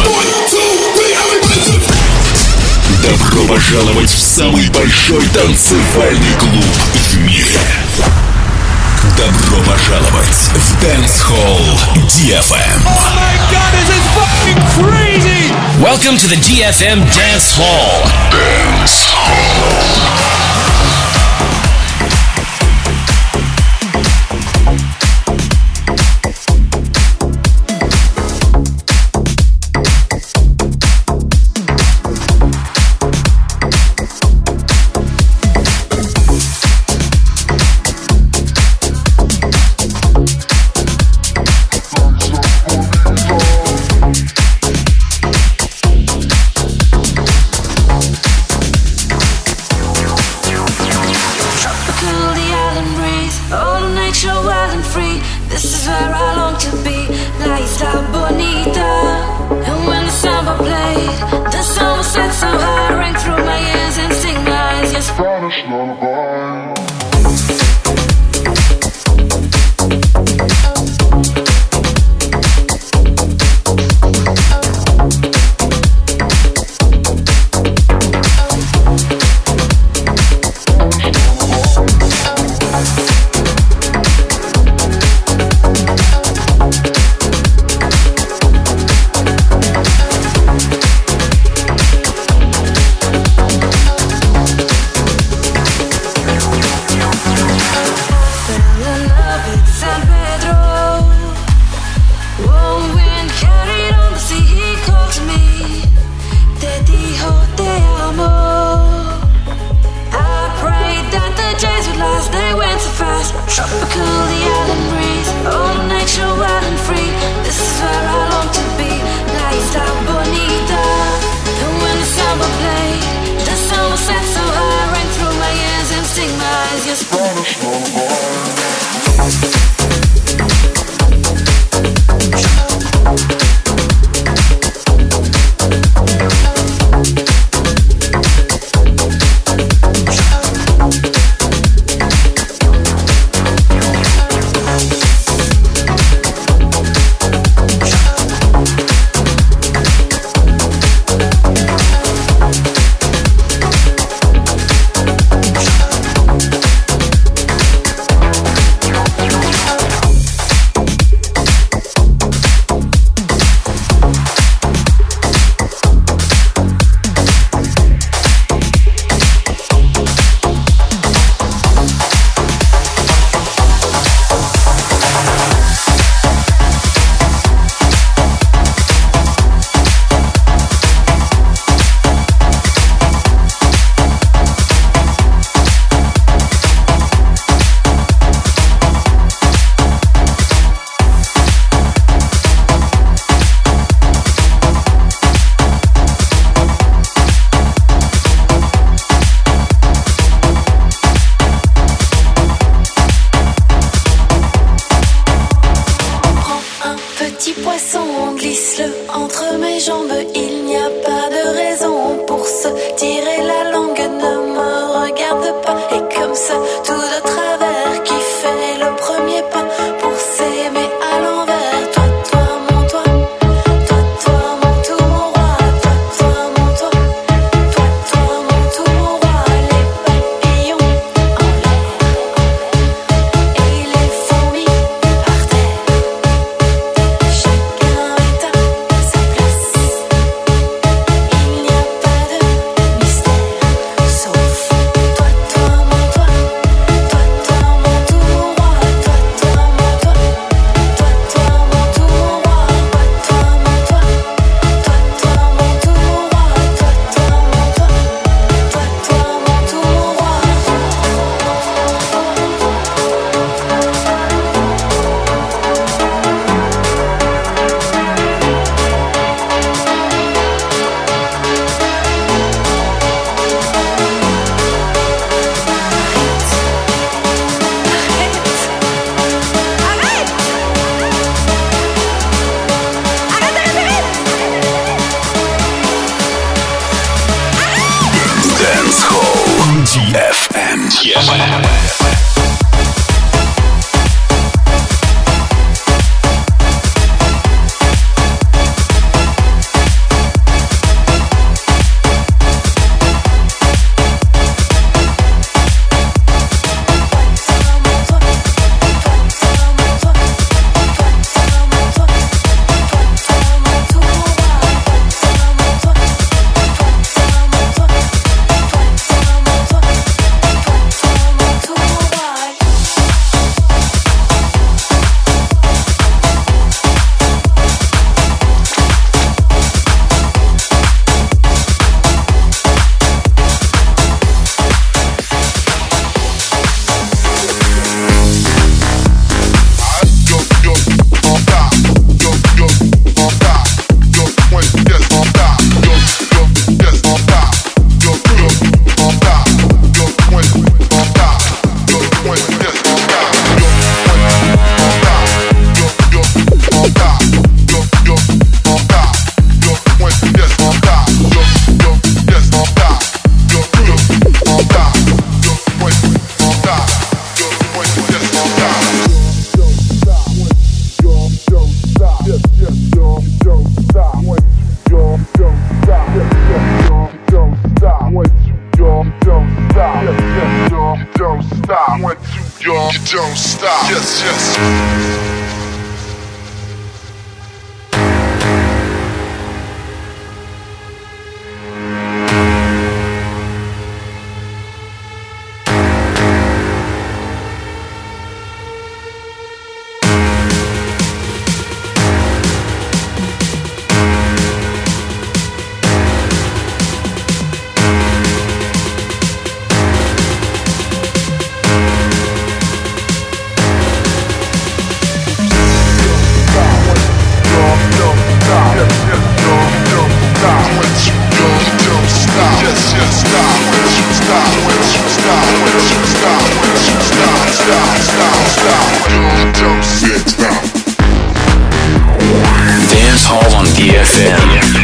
Добро пожаловать в самый большой танцевальный клуб в мире. Добро пожаловать в Dance Hall DFM. Oh my god, this is fucking crazy! Welcome to the DFM Dance Hall. Dance Hall. DFM. don't stop. Yes, yes. Dance Hall on DFM.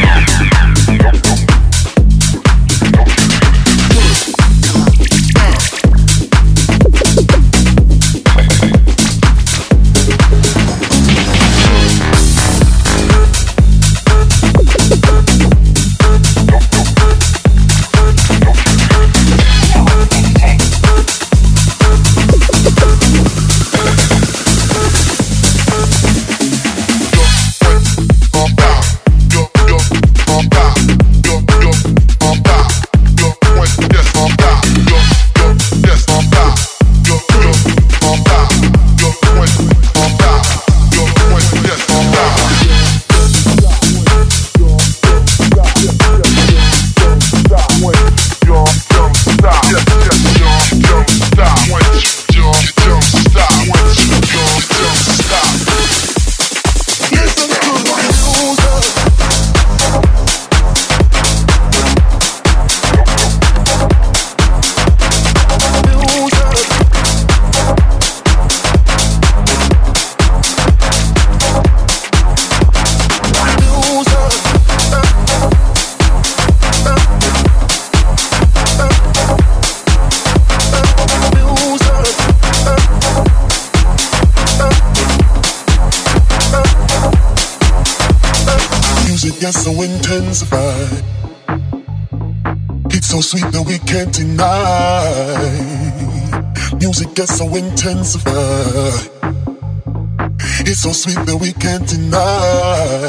Gets so intensified. It's so sweet that we can't deny. Music gets so intensified. It's so sweet that we can't deny.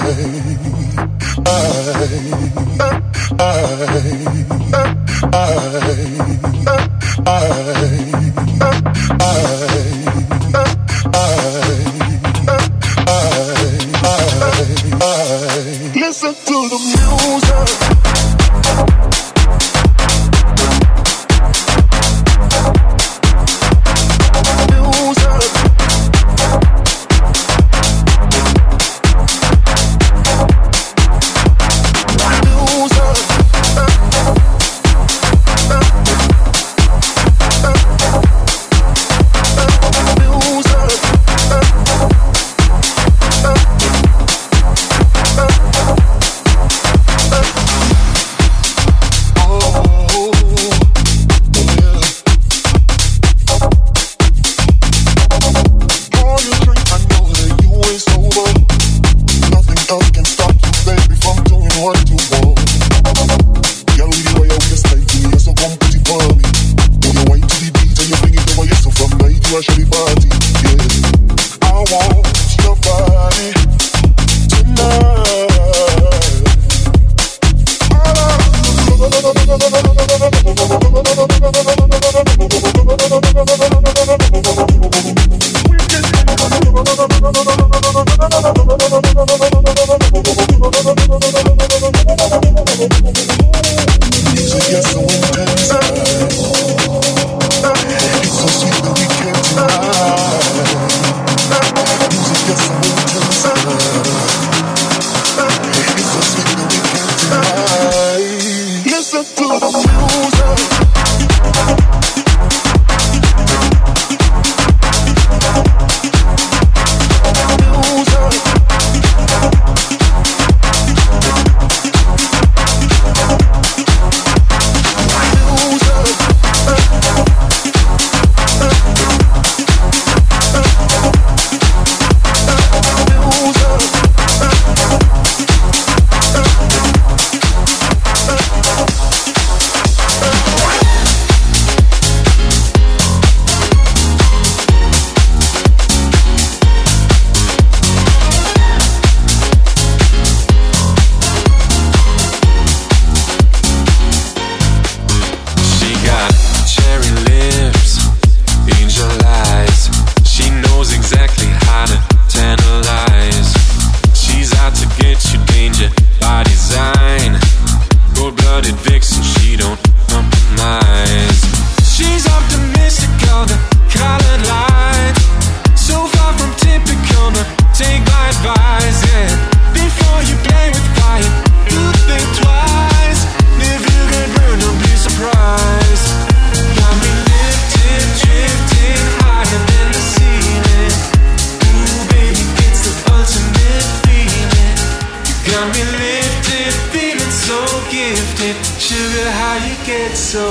Listen to the music.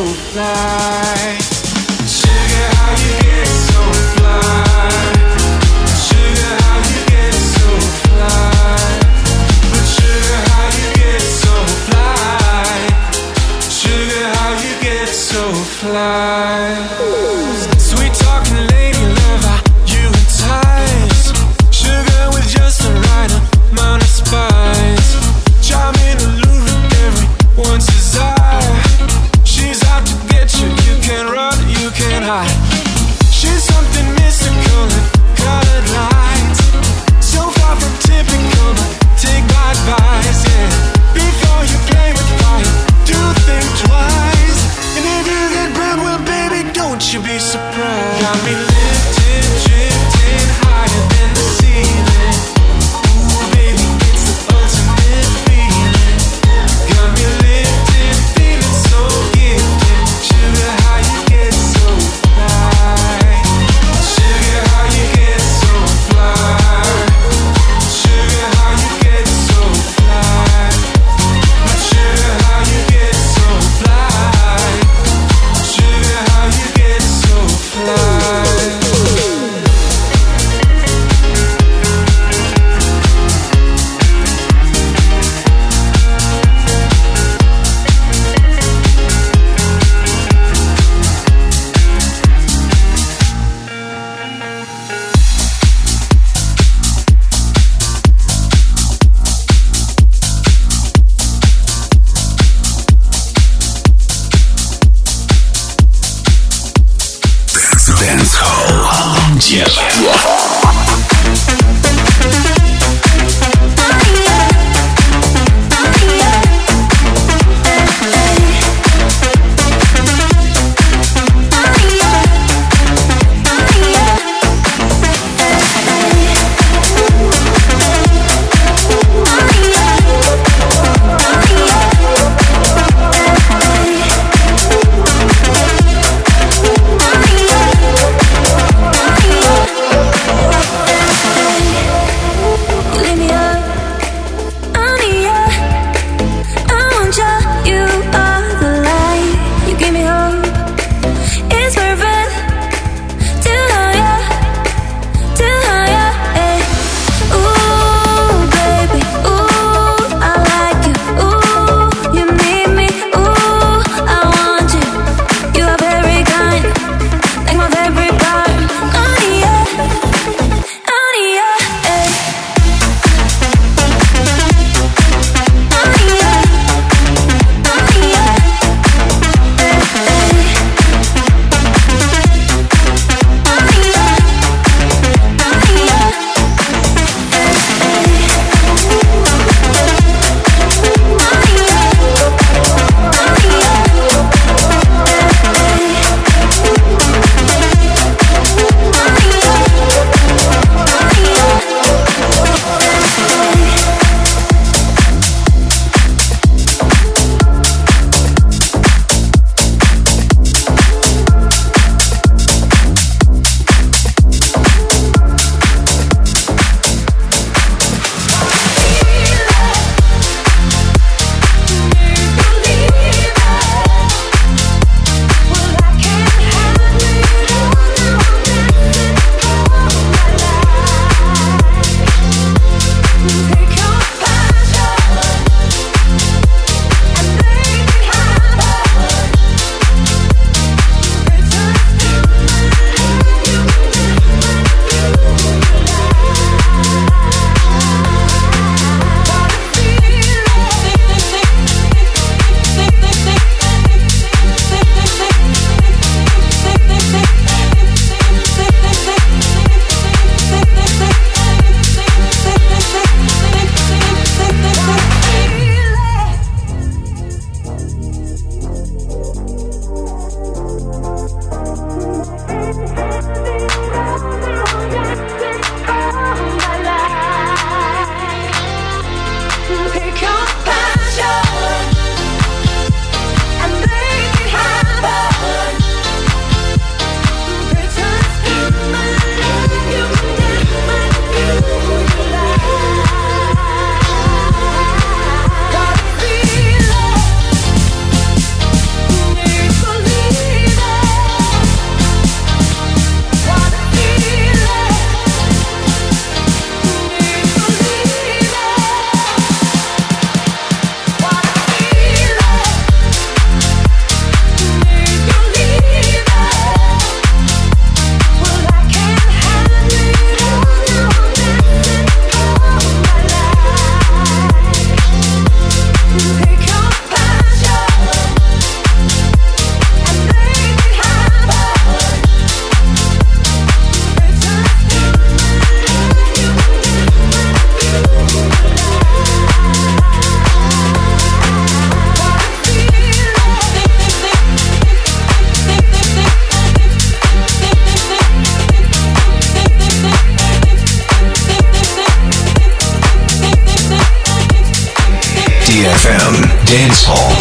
fly. Sugar, how you get so fly. Sugar, how you get so fly. But sugar, how you get so fly. Sugar, how you get so fly. Sweet talking lady lover, you entice. Sugar with just the right amount of spice. Charming, alluring, everyone's desire. She's out to get you, you can't run, you can't hide. She's something mystical and colored lights. So far from typical, but take my advice, yeah. Before you play with fire, do think twice. And if you get burned, well baby, don't you be surprised. Got me lifted, drifting higher than the ceiling. Ooh baby, it's the ultimate feeling. Got me lifted, feeling so gifted. Sugar, how you get so fly. Sugar, how you get so fly. Sugar, how you get so fly. Sugar, how you get so fly. Sugar, how you get so fly. Dancehall. Bye. Dance Hall.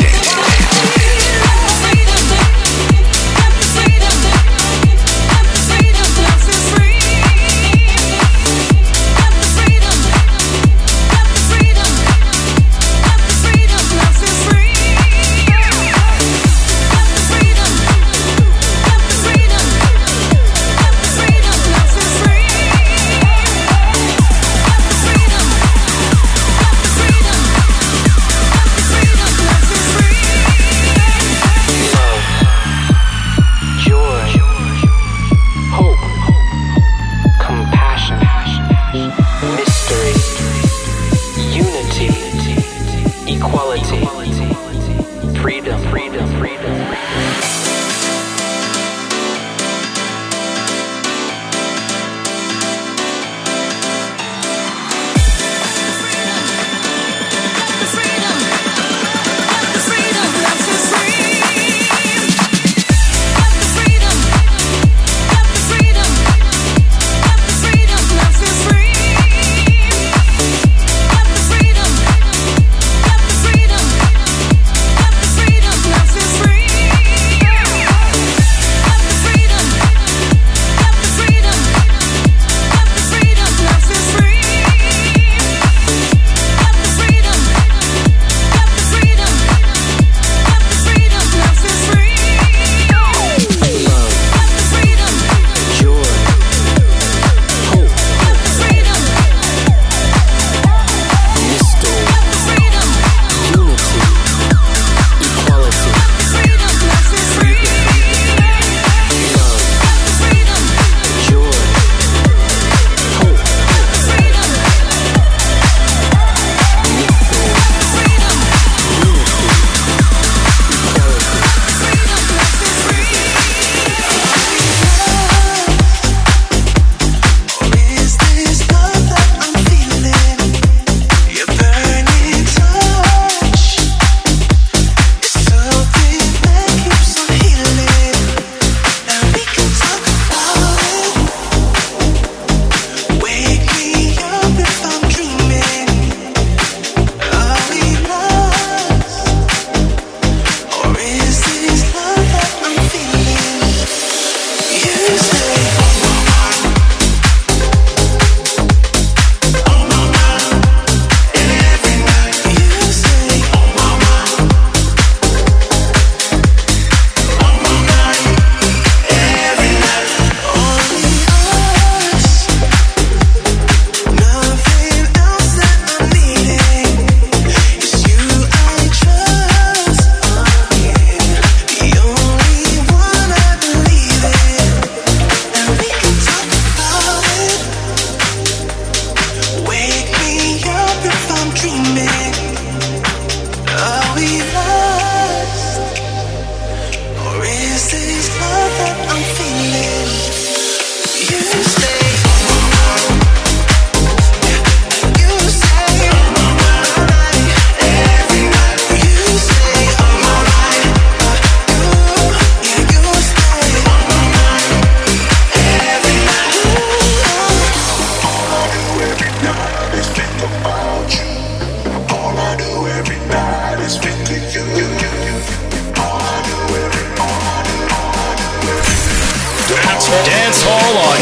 Dance Hall on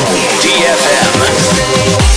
DFM.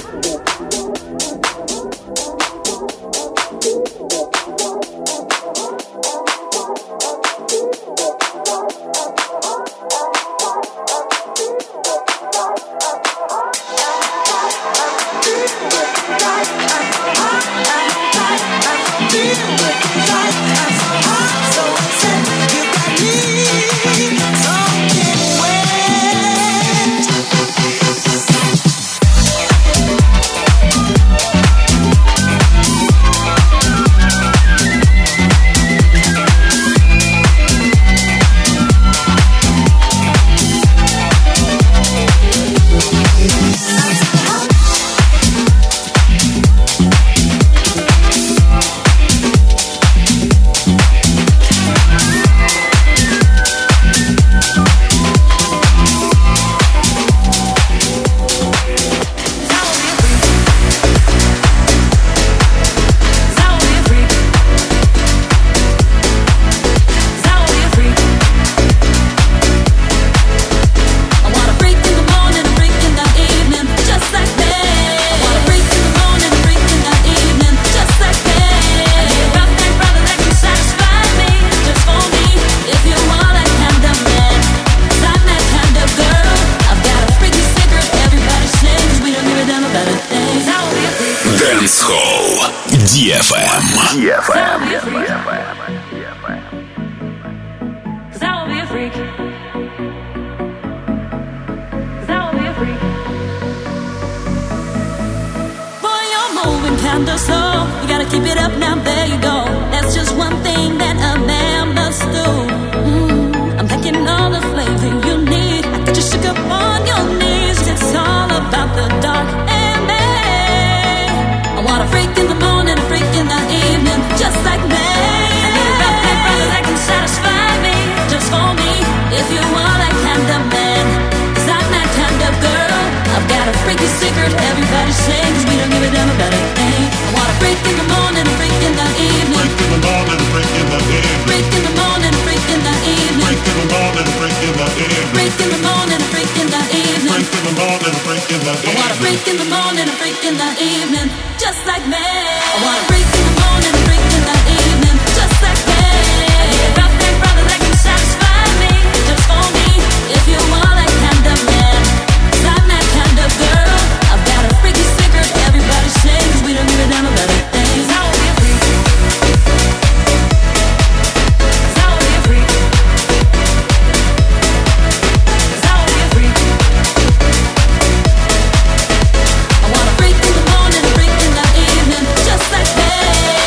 Just like that.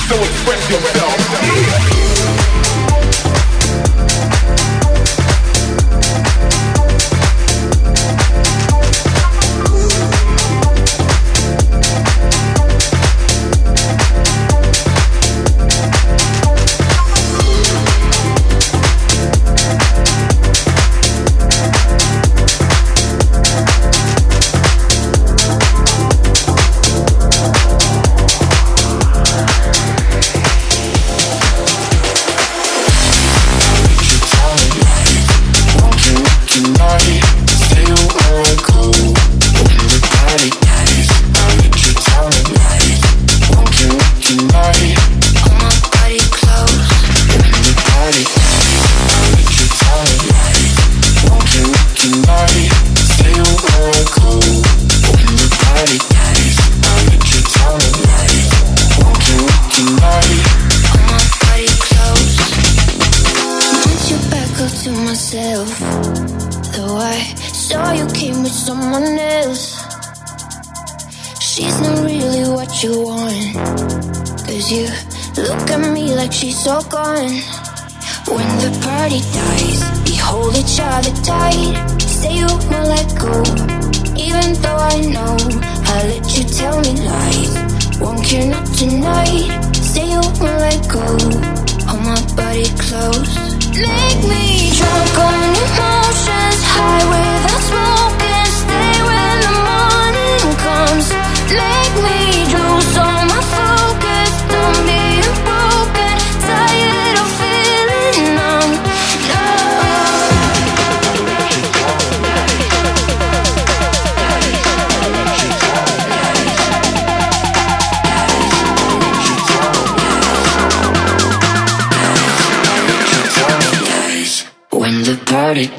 So express yourself. She's so gone. When the party dies, we hold each other tight. Say you won't let go, even though I know I let you tell me lies. Won't care not tonight. Say you won't let go. Hold my body close. Make me drunk on emotions, high without smoking. Stay when the morning comes. Make me lose all my focus. Don't be broken. Tired of feeling numb. When the party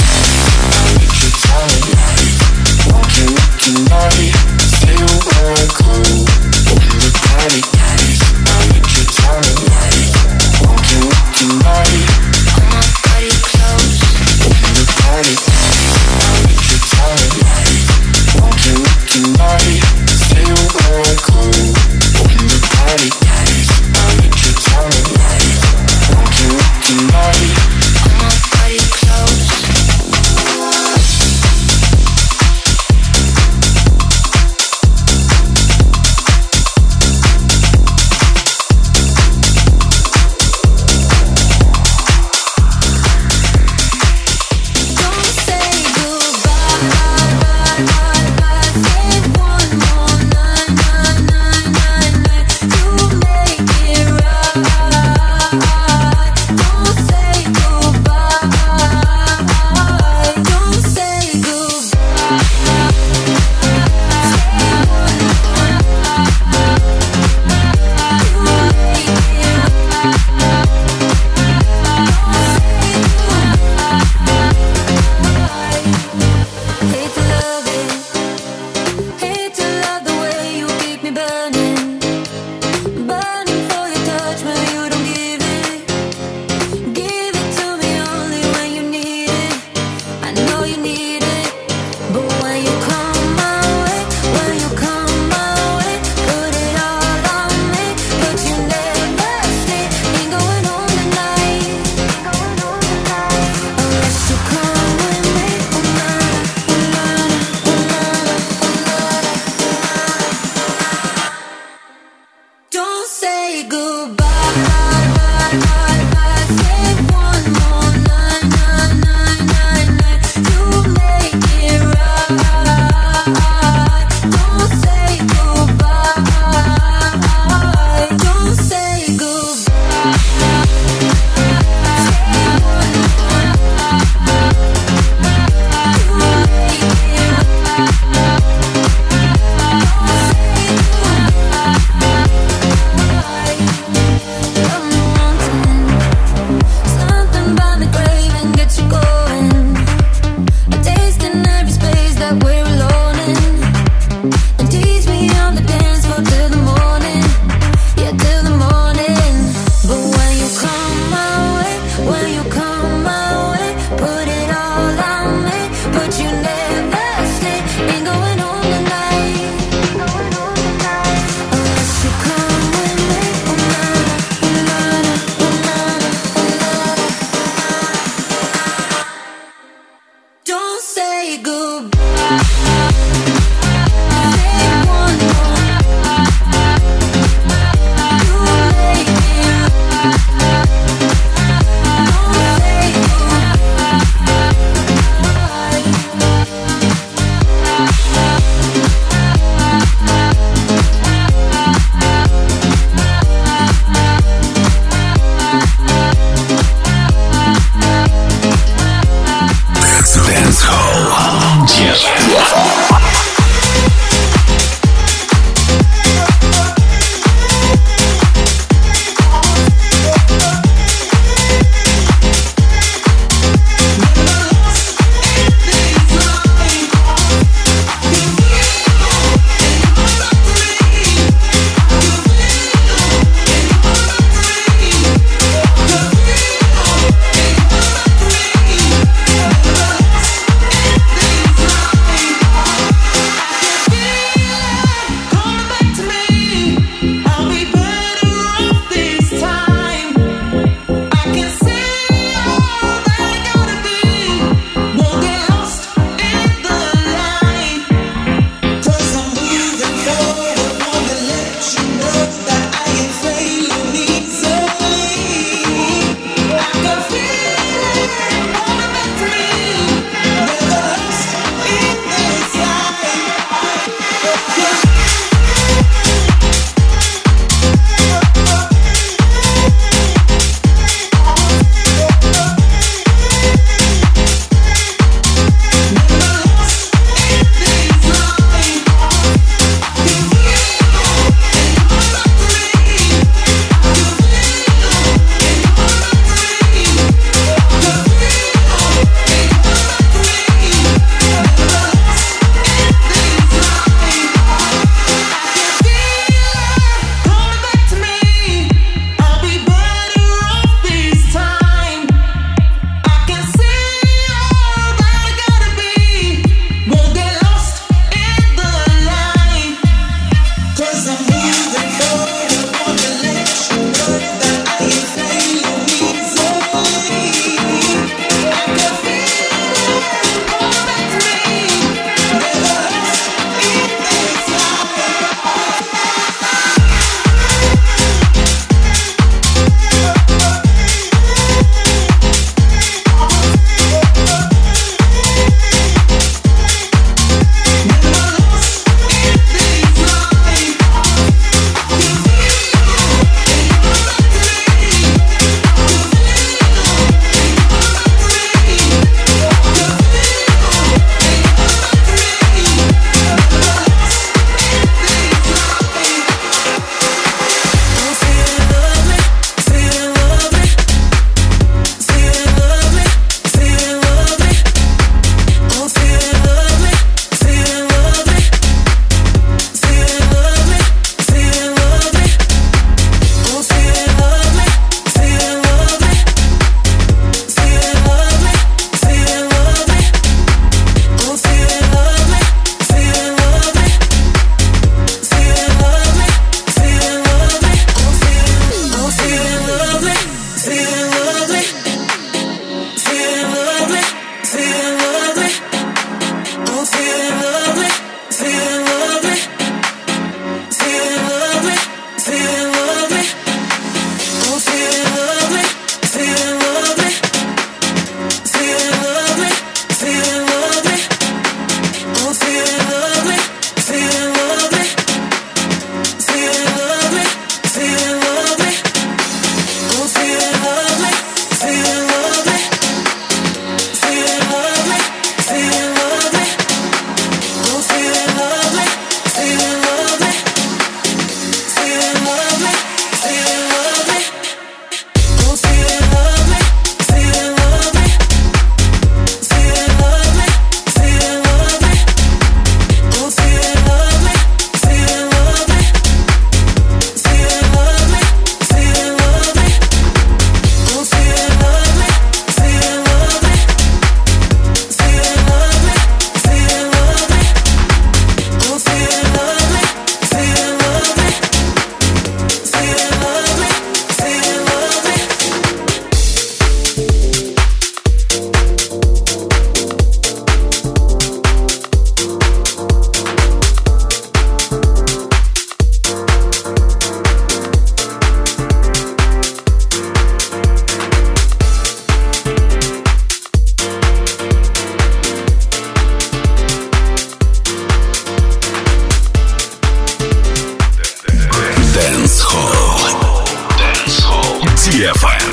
DFM.